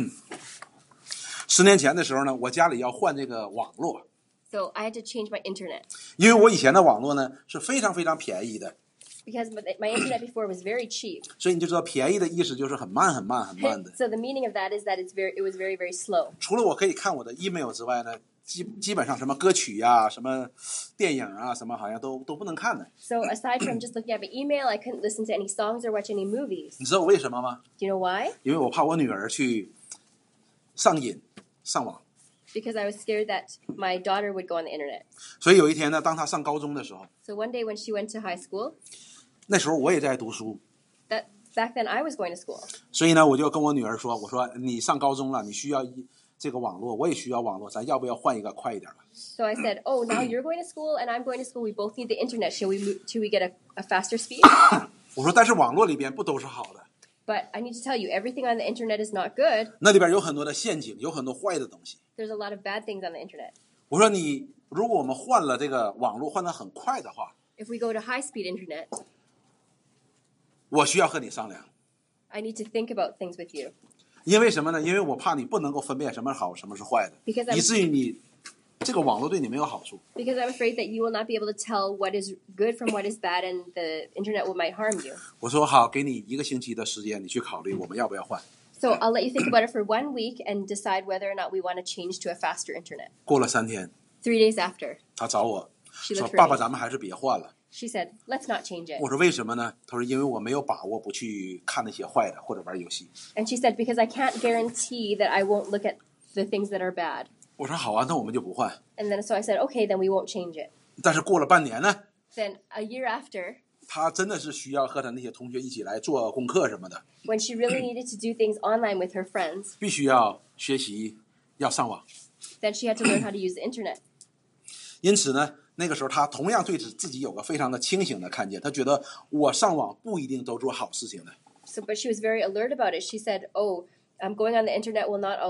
，10年前的时候呢，我家里要换这个网络， So I had to change my internet 因为我以前的网络呢是非常非常便宜的， because my internet before was very cheap. 所以你就知道便宜的意思就是很慢很慢很慢的。 So the meaning of that is that it was very, very slow. 除了我可以看我的 email 之外呢，基本上什么歌曲呀、什么电影啊、什么好像都不能看的。 So aside from just looking at my email, I couldn't listen to any songs or watch any movies. 你知道为什么吗？ Do you know why? 因为我怕我女儿去上瘾上网。 Because I was scared that my daughter would go on the internet. 所以有一天呢，当她上高中的时候， So one day when she went to high school, 那时候我也在读书， back then I was going to school. 所以呢，我就跟我女儿说：“我说你上高中了，你需要这个网络，我也需要网络，咱要不要换一个快一点的？” So I said, "Oh, now you're going to school and I'm going to school. We both need the internet. Shall we get a faster speed?" 我说：“但是网络里边不都是好的， But I need to tell you, everything on the internet is not good. 那里边有很多的陷阱，有很多坏的东西。” There's a lot of bad things on the internet. 我说你，如果我们换了这个网络换得很快的话， If we go to high-speed internet, 我需要和你商量， I need to think about things with you. 因为什么呢？因为我怕你不能够分辨什么是好，什么是坏的， Because I'm- 以至于你这个网络对你没有好处。 Because I'm afraid that you will not be able to tell what is good from what is bad, and the internet might harm you. 我说好，给你1个星期的时间，你去考虑我们要不要换。 So I'll let you think about it for 1 week and decide whether or not we want to change to a faster internet. 过了3天， 3 days after, 他找我 she 说：“ looked 爸爸， for me. 咱们还是别换了。 She said, "Let's not change ”it." 我说：“为什么呢？”他说：“因为我没有把握不去看那些坏的或者玩游戏。 And she said, "Because I can't guarantee that I won't look at the things that are bad." ” 我说：“好啊，那我们就不换。 And then so I said, "Okay, then we won't change it." ” 但是过了半年呢， Then a year after, 他真的是需要和他那些同学一起来做功课什么的， when she really needed to do things online with her friends, 必须要学习，要上网。 then she had to learn how to use the internet. 因此呢，那个时候他同样对自己有个非常的清醒的看见，他觉得我上网不一定都做好事情的。 So, but she was very alert about it. She said, "Oh, going on the internet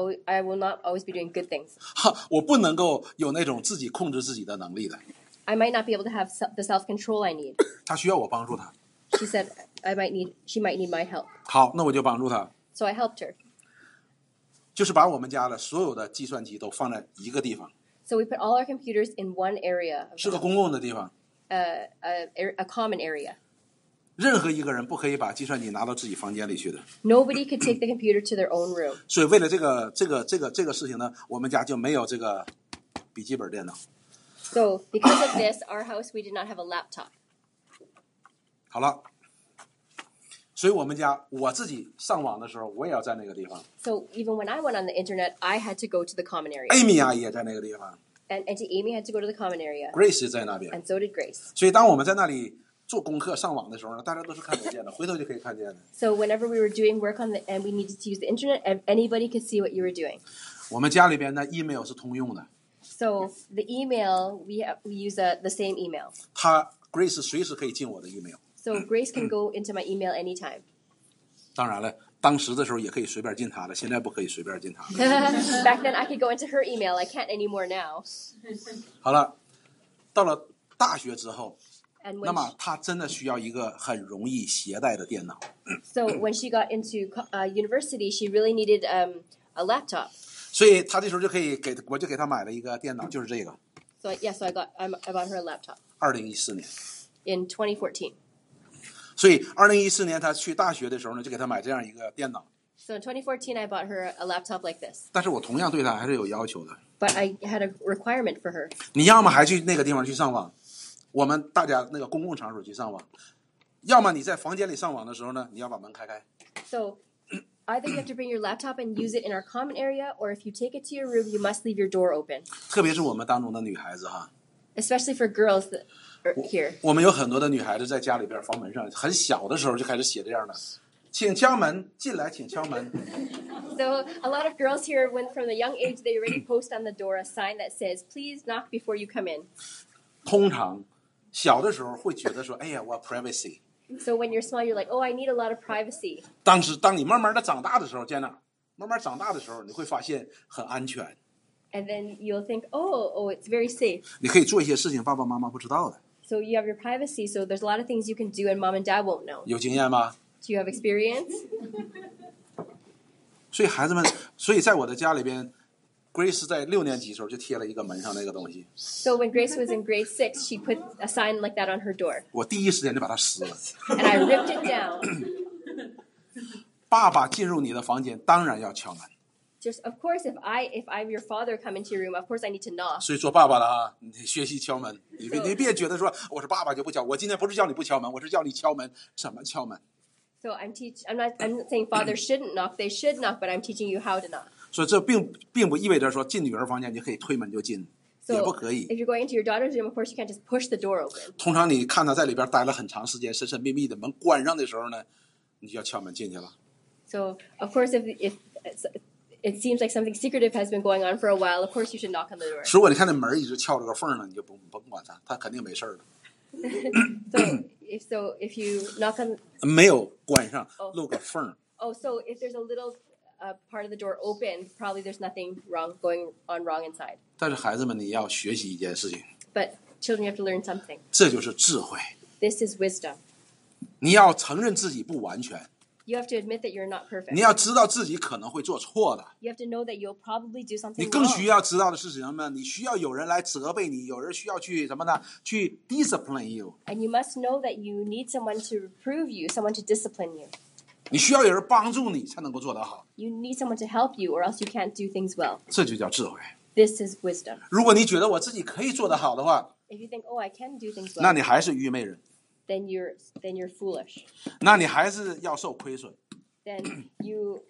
I will not always be doing good things. 我不能够有那种自己控制自己的能力的， I might not be able to have the self-control I need." 他需要我帮助他。 She said, she might need my help. 好，那我就帮助他， So I helped her. 就是把我们家的所有的计算机都放在一个地方， So we put all our computers in one area, 是个公共的地方， a common area. 任何一个人不可以把计算机拿到自己房间里去的。 Nobody could take the computer to their own room. 所以为了这个事情呢，我们家就没有这个笔记本电脑。 So because of this, our house, we did not have a laptop. 好了，所以我们家我自己上网的时候，我也要在那个地方。 So even when I went on the internet, I had to go to the common area. Amy 阿姨也在那个地方 And Auntie Amy had to go to the common area. ，Grace 也在那边。 And so did Grace. 所以当我们在那里做功课、上网的时候呢，大家都是看得见的，回头就可以看见的。 So whenever we were doing work and we needed to use the internet, anybody could see what you were doing. 我们家里边的 email 是通用的， So the email, we use the same email. 他 Grace 随时可以进我的 email。 So Grace can go into my email anytime. 当然了，当时的时候也可以随便进他的，现在不可以随便进他的。 Back then, I could go into her email. I can't anymore now. 好了，到了大学之后， And 那 when 么他真的需要一个很容易携带的电脑。 so when she got into university, she really needed a laptop. 所以他这时候就可以我就给他买了一个电脑，就是这个。 So I bought her a laptop. 2014年。 in 2014. 所以2014年他去大学的时候呢，就给他买这样一个电脑。 So in 2014, I bought her a laptop like this. 但是我同样对他还是有要求的。 But I had a requirement for her. 你要么还去那个地方去上网，我们大家那个公共场所去上网，要么你在房间里上网的时候呢，你要把门开开。 So either you have to bring your laptop and use it in our common area, or if you take it to your room, you must leave your door open. 特别是我们当中的女孩子哈， Especially for girls that are here. 我们有很多的女孩子在家里边房门上很小的时候就开始写这样的，请敲门，进来请敲门。 So a lot of girls here, when from a young age, they already post on the door a sign that says, "Please knock before you come in." 通常小的时候会觉得说，哎呀，我 privacy。 So when you're small, you're like, "Oh, I need a lot of privacy." 当你慢慢的长大的时候，见哪？慢慢长大的时候，你会发现很安全， And then you'll think, oh, it's very safe. 你可以做一些事情爸爸妈妈不知道的。 So you have your privacy. So there's a lot of things you can do and mom and dad won't know. 有经验吗？ Do you have experience? 所以孩子们，所以在我的家里边，Grace 在6年级的时候就贴了一个门上那个东西， So when Grace was in grade 6, she put a sign like that on her door. 我第一时间就把它撕了。 And I ripped it down. 爸爸进入你的房间，当然要敲门。 Just of course, if I'm your father come into your room, of course I need to knock. 所以做爸爸的啊，你学习敲门，你别觉得说我是爸爸就不敲。我今天不是叫你不敲门，我是叫你敲门。怎么敲门？ So I'm not saying fathers shouldn't knock. They should knock, but I'm teaching you how to knock. 所以这并不意味着说进女儿房间你可以推门就进，也不 So 可以。 if you're going into your daughter's room, of course you can't just push the door open. 通常你看她在里边待了很长时间，神神秘秘的，门关上的时候呢，你就要敲门进去了。 So of course, if it seems like something secretive has been going on for a while, of course you should knock on the door. 如果你看那门一直撬着个缝呢，你就甭管它，它肯定没事儿的。 If you knock on 没有关上，露个缝。 so if there's a little part of the door open, probably there's nothing going on wrong inside. 但是孩子们，你要学习一件事情， But children, you have to learn something. 这就是智慧。 This is wisdom. 你要承认自己不完全， You have to admit that you're not 你 perfect. 要知道自己可能会做错的。 You have to know that you'll probably do 你 something 更需 wrong. 要知道的是什么呢？你需要有人来责备你，有人需要去什么呢？去 discipline you。 And you must know that you need someone to reprove you, someone to discipline you. 你需要有人帮助你才能够做得好， You need someone to help you, or else you can't do things well. 这就叫智慧。 This is wisdom. 如果你觉得我自己可以做得好的话， If you think, oh, I can do things 那 well, 你还是愚昧人， then you're foolish. 那你还是要受亏损， Then you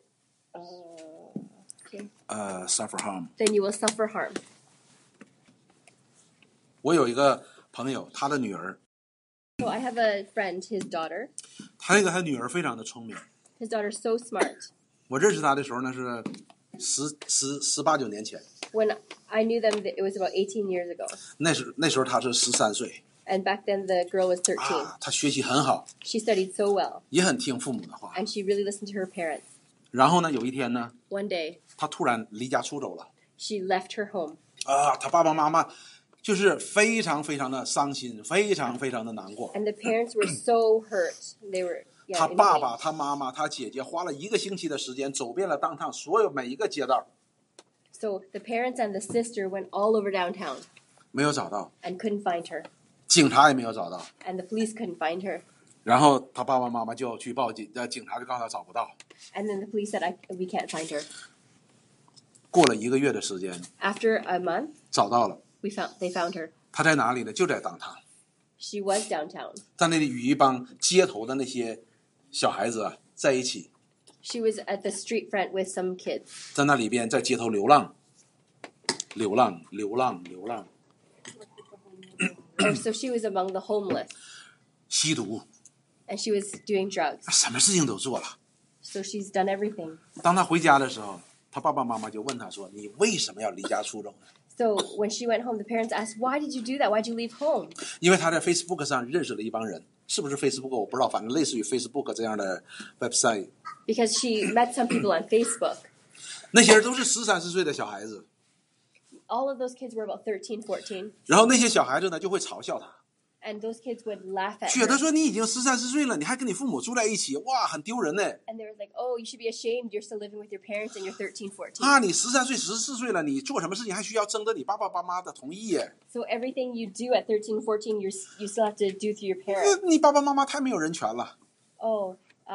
suffer harm。 then you will suffer harm. 我有一个朋友，他的女儿， So I have a friend, his daughter. 他女儿非常的聪明。 His daughter's so smart. 我认识他的时候呢是18、19年前， When I knew them, it was about 18 years ago. 那时候他是13岁 And back then, the girl was 13. 啊，他学习很好， She studied so well, 也很听父母的话。 and she really listened to her parents. 然后呢，有一天呢， One day, 他突然离家出走了 she left her home. 啊，他爸爸妈妈就是非常非常的伤心，非常非常的难过。 And the parents were so hurt. They were, 他 in 爸 pain. 爸、他妈妈、他姐姐花了1个星期的时间，走遍了当趟所有每一个街道， So the parents and the sister went all over downtown 没有找到， and couldn't find her. 警察也没有找到。 And the police couldn't find her. 然后他爸爸妈妈就去报警，警察就告诉他找不到。 And then the police said, we can't find her. 过了1个月的时间， After a month, 找到了。 they found her. 他在哪里呢？就在当趟， She was downtown. 在那里与一帮街头的那些小孩子啊在一起， She was at the street front with some kids. 在那里边在街头流浪，流浪，流浪，流浪， So she was among the homeless. 吸毒， And she was doing drugs. 什么事情都做了。 So she's done everything. 当他回家的时候，他爸爸妈妈就问他说：“你为什么要离家出走呢 So when she went home, the parents asked, why did you do that? Why'd you leave home?？” 因为他在 Facebook 上认识了一帮人，是不是 Facebook 我不知道，反正类似于 Facebook 这样的 website。 Because she met some people on Facebook. 那些人都是13、14岁的小孩子， All of those kids were about 13, 14. 然后那些小孩子呢就会嘲笑他， And those kids would laugh at 觉得 her. 说你已经13、14岁了，你还跟你父母住在一起，哇，很丢人呢。 And they were like, oh, you should be ashamed. You're still living with your parents and you're 13, 14. 啊，你13岁、14岁了，你做什么事情还需要征得你爸爸妈妈的同意耶？ So everything you do at 13, 14, you still have to do through your parents. 你爸爸妈妈太没有人权了。 Oh,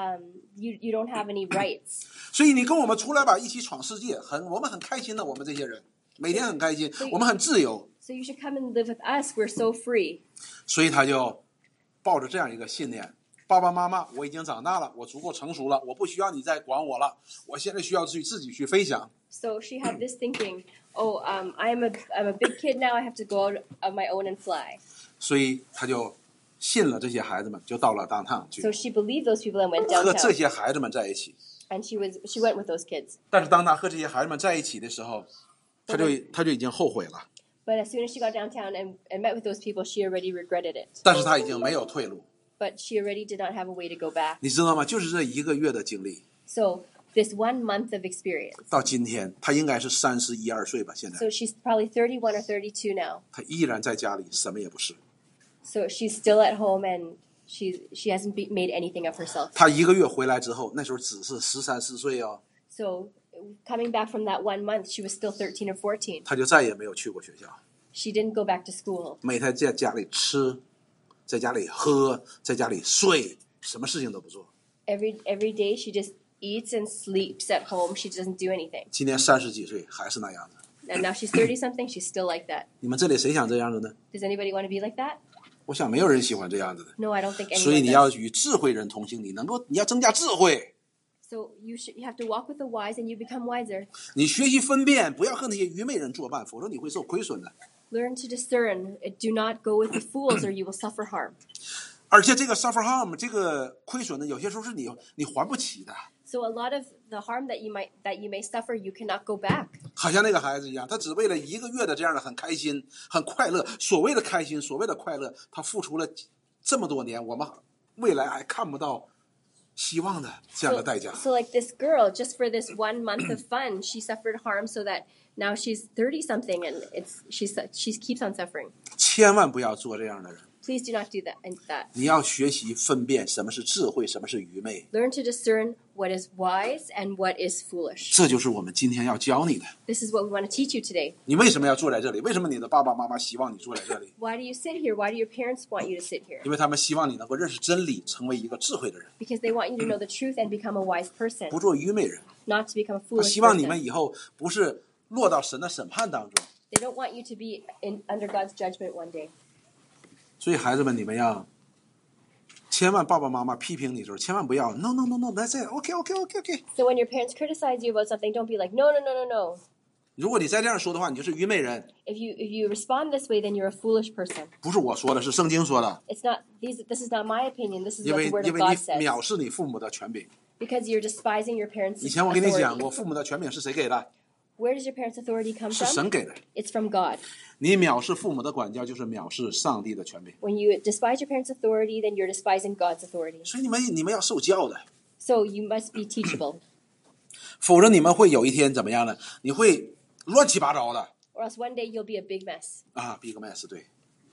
you don't have any rights. 所以你跟我们出来吧，一起闯世界，我们很开心的，我们这些人每天很开心，我们很自由。 So you should come and live with us. We're so free. 所以他就抱着这样一个信念：爸爸妈妈，我已经长大了，我足够成熟了，我不需要你再管我了，我现在需要自己去飞翔。 So she had this thinking, oh, I'm a big kid now. I have to go out of my own and fly. 所以他就信了这些孩子们，就到了downtown去 So she believed those people and went 和这 downtown. 些孩子们在一起。 And she went with those kids. 但是当他和这些孩子们在一起的时候，他就已经后悔了。 But as soon as she got downtown and met with those people, she already regretted it. 但是他已经没有退路， But she already did not have a way to go back. 你知道吗？就是这1个月的经历， So this 1 month of experience. 到今天他应该是31、2岁吧，现在 So she's probably 31 or 32 now. 他依然在家里，什么也不是。 So she's still at home and she hasn't made anything of herself. 他1个月回来之后，那时候只是13、14岁哦， So coming back from that 1 month, she was still 13 or 14. 他就再也没有去过学校， She didn't go back to school. 每天在家里吃，在家里喝，在家里睡，什么事情都不做。 Every day she just eats and sleeps at home. She doesn't do anything. 今年30几岁还是那样的。 And now she's 30 something. She's still like that. 你们这里谁想这样的呢？ Does anybody want to be like that? 我想没有人喜欢这样子的。 No, I don't think 所以 anyone 你要 does. 与智慧人同行，你要增加智慧， So you have to walk with the wise and you become wiser. 你学习分辨，不要和那些愚昧人作伴，否则你会受亏损的。 Learn to discern. Do not go with the fools or you will suffer harm. 而且这个 suffer harm 这个亏损呢，有些时候是你还不起的。 So a lot of the harm that you may suffer, you cannot go back. 好像那个孩子一样，他只为了1个月的这样的很开心、很快乐，所谓的开心、所谓的快乐，他付出了这么多年，我们未来还看不到希望的这样的代价。 So like this girl, just for this 1 month of fun, she suffered harm so that now she's 30 something and she keeps on suffering. 千万不要做这样的人。 Please do not do that. 你要学习分辨什么是智慧，什么是愚昧， Learn to discern what is wise and what is foolish. 这就是我们今天要教你的。 This is what we want to teach you today. 你为什么要坐在这里？为什么你的爸爸妈妈希望你坐在这里？ Why do you sit here? Why do your parents want you to sit here? 因为他们希望你能够认识真理，成为一个智慧的人， Because they want you to know the truth and become a wise person, 不做愚昧人。 not to become a 他 foolish 希望你 person. 们以后不是落到神的审判当中。 They don't want you to be under God's judgment one day. 所以孩子们，你们要千万爸爸妈妈批评你的时候，千万不要 no no no no that's it OK。 So when your parents criticize you about something, don't be like, no. 如果你再这样说的话，你就是愚昧人。 If you respond this way, then you're a foolish person. 不是我说的，是圣经说的。 This is not my opinion. This is 因 what 为 the Word 因 of 为 God 你 says. 藐视你父母的权柄。 Because you're despising your parents' 以前我跟你讲 authority. 过，父母的权柄是谁给的？ Where does your parents' authority come 是 from? 神给的。 It's from God. 你藐视父母的管教，就是藐视上帝的权柄。 When you despise your parents' authority, then you're despising God's authority. 所以你们要受教的， So you must be teachable. 否则你们会有一天怎么样呢？你会乱七八糟的 Or else one day you'll be a big mess. 啊 ，big mess 对。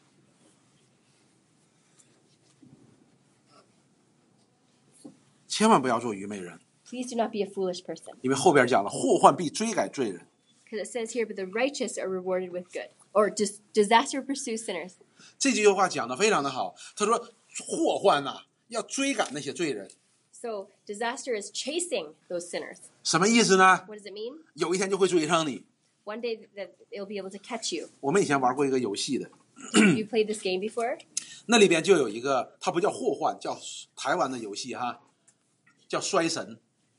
千万不要做愚昧人， Please do not be a foolish person. 因为后边讲了，祸患必追赶罪人。 Because it says here, but the righteous are rewarded with good. Or disaster pursues sinners. 这句话讲得非常的好，他说祸患呐、要追赶那些罪人， So disaster is chasing those sinners. 什么意思呢？ What does it mean? 有一天就会追上你。 One day that it'll be able to catch you. 我们以前玩过一个游戏的， You played this game before? 那里边就有一个，它不叫祸患，叫台湾的游戏哈，叫衰神，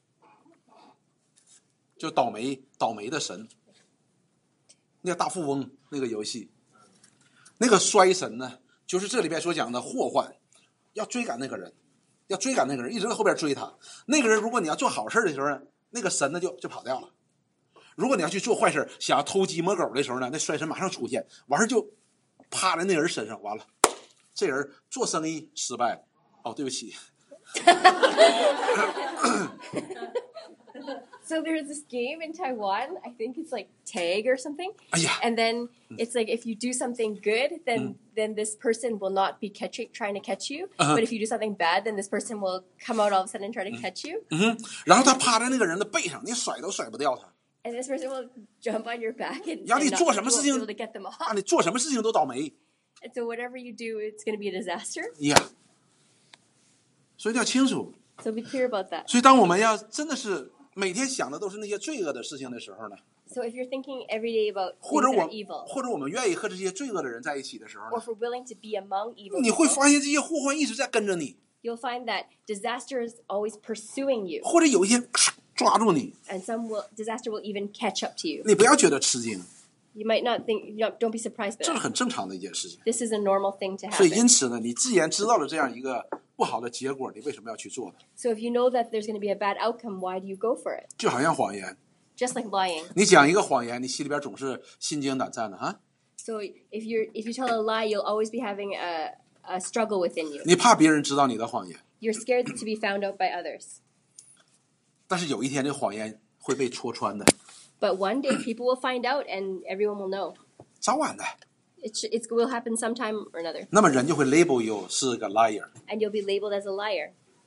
就倒霉的神。那个大富翁那个游戏，那个衰神呢，就是这里边所讲的祸患，要追赶那个人，一直在后边追他。那个人如果你要做好事的时候呢，那个神呢就跑掉了。如果你要去做坏事，想要偷鸡摸狗的时候呢，那衰神马上出现，完事就趴在那人身上，完了，这人做生意失败了。哦，对不起。 So there's this game in Taiwan. I think it's like tag or something. 哎呀， And then it's like if you do something good, then this person will not be trying to catch you. Uh-huh. But if you do something bad, then this person will come out all of a sudden and try to catch you. 然后他趴在那个人的背上，你甩都甩不掉他。 And this person will jump on your back and, 然后你 and 做 not 什么 you 事 won't be 情 able to get them off. 啊，你做什么事情都倒霉 And so whatever you do, it's going to be a disaster. 呀。所以要清楚。 So be clear about that. 所以当我们要真的是每天想的都是那些罪恶的事情的时候呢， So if you're thinking every day about 或 things 者 that 我 are evil, 或者我们愿意和这些罪恶的人在一起的时候 or 呢， if we're willing to be among evil 你会 people, 发现这些祸患一直在跟着你， you'll find that disaster is always pursuing you. 或者有一天抓住你， And disaster will even catch up to you. 你不要觉得吃惊， You might not think, don't be surprised by 这是 that. 很正常的一件事情。 This is a normal thing to 所以 happen. 因此呢，你既然知道了这样一个不好的结果，你为什么要去做呢？ So if you know that there's going to be a bad outcome, why do you go for it? 就好像谎言， Just like lying. 你讲一个谎言，你心里边总是心惊胆战的啊， So if you tell a lie, you'll always be having a struggle within you. 你怕别人知道你的谎言， You're scared to be found out by others. 但是有一天这谎言会被戳穿的， But one day people will find out and everyone will know. 早晚的。 It will happen sometime or another. 那么人就会 label you 是个 liar。 And you'll be labeled as a liar.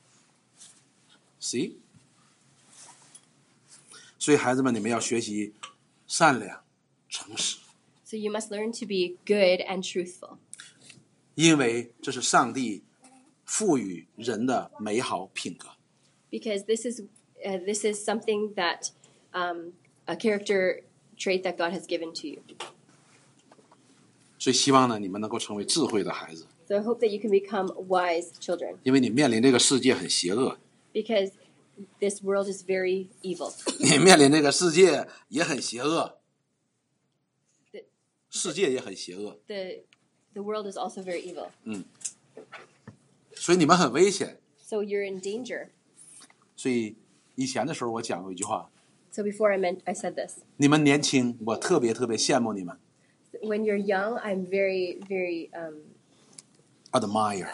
See？ 所以孩子们，你们要学习善良、诚实， So you must learn to be good and truthful. 因为这是上帝赋予人的美好品格。 Because this is something that a character trait that God has given to you. 所以希望呢，你们能够成为智慧的孩子， So I hope that you can become wise children. 因为你面临这个世界很邪恶， Because this world is very evil. 你面临这个世界也很邪恶， The, 世界也很邪恶， the world is also very evil. 所以你们很危险。 So you're in danger. 所以以前的时候我讲过一句话： So before I said this. 你们年轻，我特别特别羡慕你们 When you're young, I'm very, very, ，admire，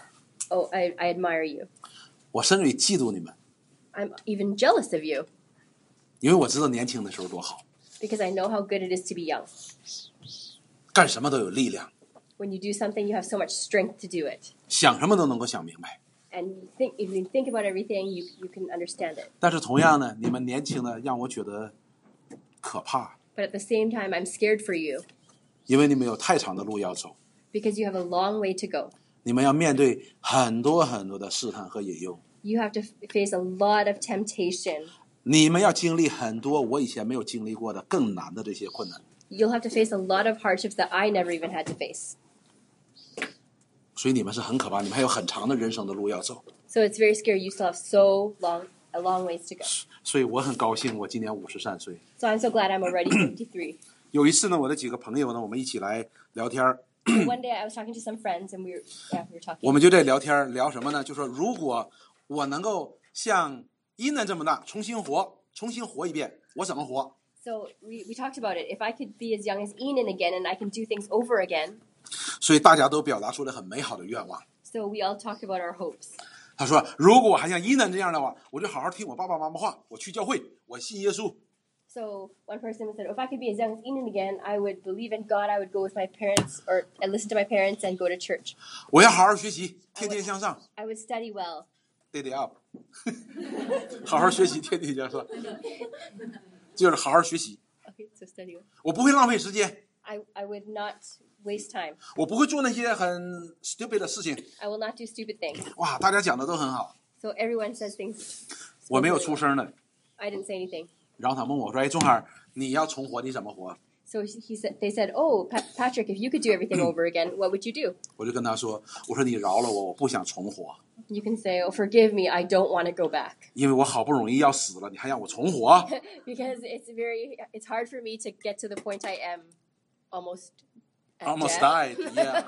I admire you. 我甚至于嫉妒你们， I'm even jealous of you 因为我知道年轻的时候多好， because I know how good it is to be young. 干什么都有力量， When you do something, you have so much strength to do it. 想什么都能够想明白。 And if you think about everything, you can understand it. 但是同样呢，你们年轻的让我觉得可怕， But at the same time, I'm scared for you 因为你们有太长的路要走， because you have a long way to go. 你们要面对很多很多的试探和引诱， You have to face a lot of temptation. 你们要经历很多我以前没有经历过的更难的这些困难， You'll have to face a lot of hardships that I never even had to face. 所以你们是很可怕，你们还有很长的人生的路要走。 So it's very scary. You still have a long ways to go. 所以我很高兴，我今年53岁。 So I'm so glad I'm already 53. 有一次呢，我的几个朋友呢，我们一起来聊天儿， So one day I was talking to some friends and we were talking. 我们就在聊天儿聊什么呢？就说如果我能够像伊能这么大，重新活一遍，我怎么活？ So we talked about it. If I could be as young as Enan again and I can do things over again. 所以大家都表达出了很美好的愿望。 So we all talked about our hopes. 他说：“如果我还像伊能这样的话，我就好好听我爸爸妈妈话，我去教会，我信耶稣。 So one person said, if I could be as young as Enan again, I would believe in God. I would go with my parents or listen to my parents and go to church. 我要好好学习，天天向上 I would study well. ，daily up， 好好学习，天天向上，就是好好学习。 Okay, so study well. 我不会浪费时间， I would not waste time. 我不会做那些很 stupid 的事情。 I will not do stupid things. 哇，大家讲的都很好， So everyone says things. 我没有出声的。 I didn't say anything. 然后他问我说：‘哎，钟海，你要重活，你怎么活 So they said, oh, Patrick, if you could do everything over again, what would you do?？’ 我就跟他说：‘我说你饶了我，我不想重活， You can say, oh, forgive me, I don't want to go back. 因为我好不容易要死了，你还让我重活？ Because it's hard for me to get to the point I am almost at Almost death. died, yeah.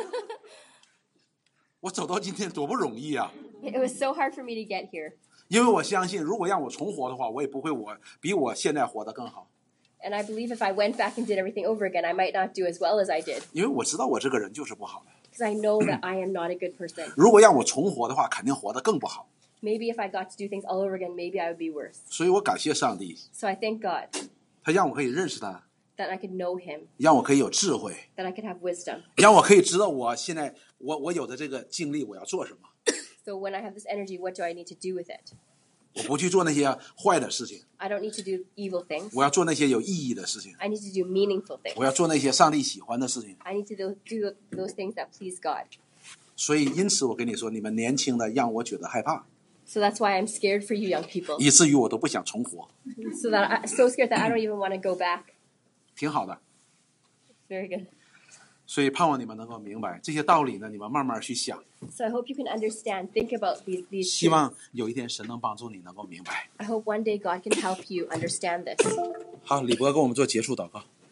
我走到今天多不容易啊！ It was so hard for me to get here. 因为我相信，如果让我重活的话，我也不会比我现在活得更好。 And I believe if I went back and did everything over again, I might not do as well as I did. 因为我知道我这个人就是不好的。 Because I know that I am not a good person. 如果让我重活的话，肯定活得更不好。 Maybe if I got to do things all over again, maybe I would be worse. 所以我感谢上帝， So I thank God 他让我可以认识他， that I could know Him, 让我可以有智慧， that I could have wisdom. 让我可以知道我现在我有的这个经历我要做什么， So when I have this energy, what do I need to do with it? 我不去做那些坏的事情， I don't need to do evil things. 我要做那些有意义的事情， I need to do meaningful things. 我要做那些上帝喜欢的事情。 I need to do those things that please God. 所以因此我跟你说，你们年轻的让我觉得害怕， So that's why I'm scared for you young people. 以至于我都不想重活。 So scared that I don't even want to go back. 挺好的， Very good. 所以盼望你们能够明白这些道理呢，你们慢慢去想。 So I hope you can understand, think about these 希 truths. 望有一天神能帮助你能够明白。 I hope one day God can help you understand this. 好，李博跟我们做结束祷告。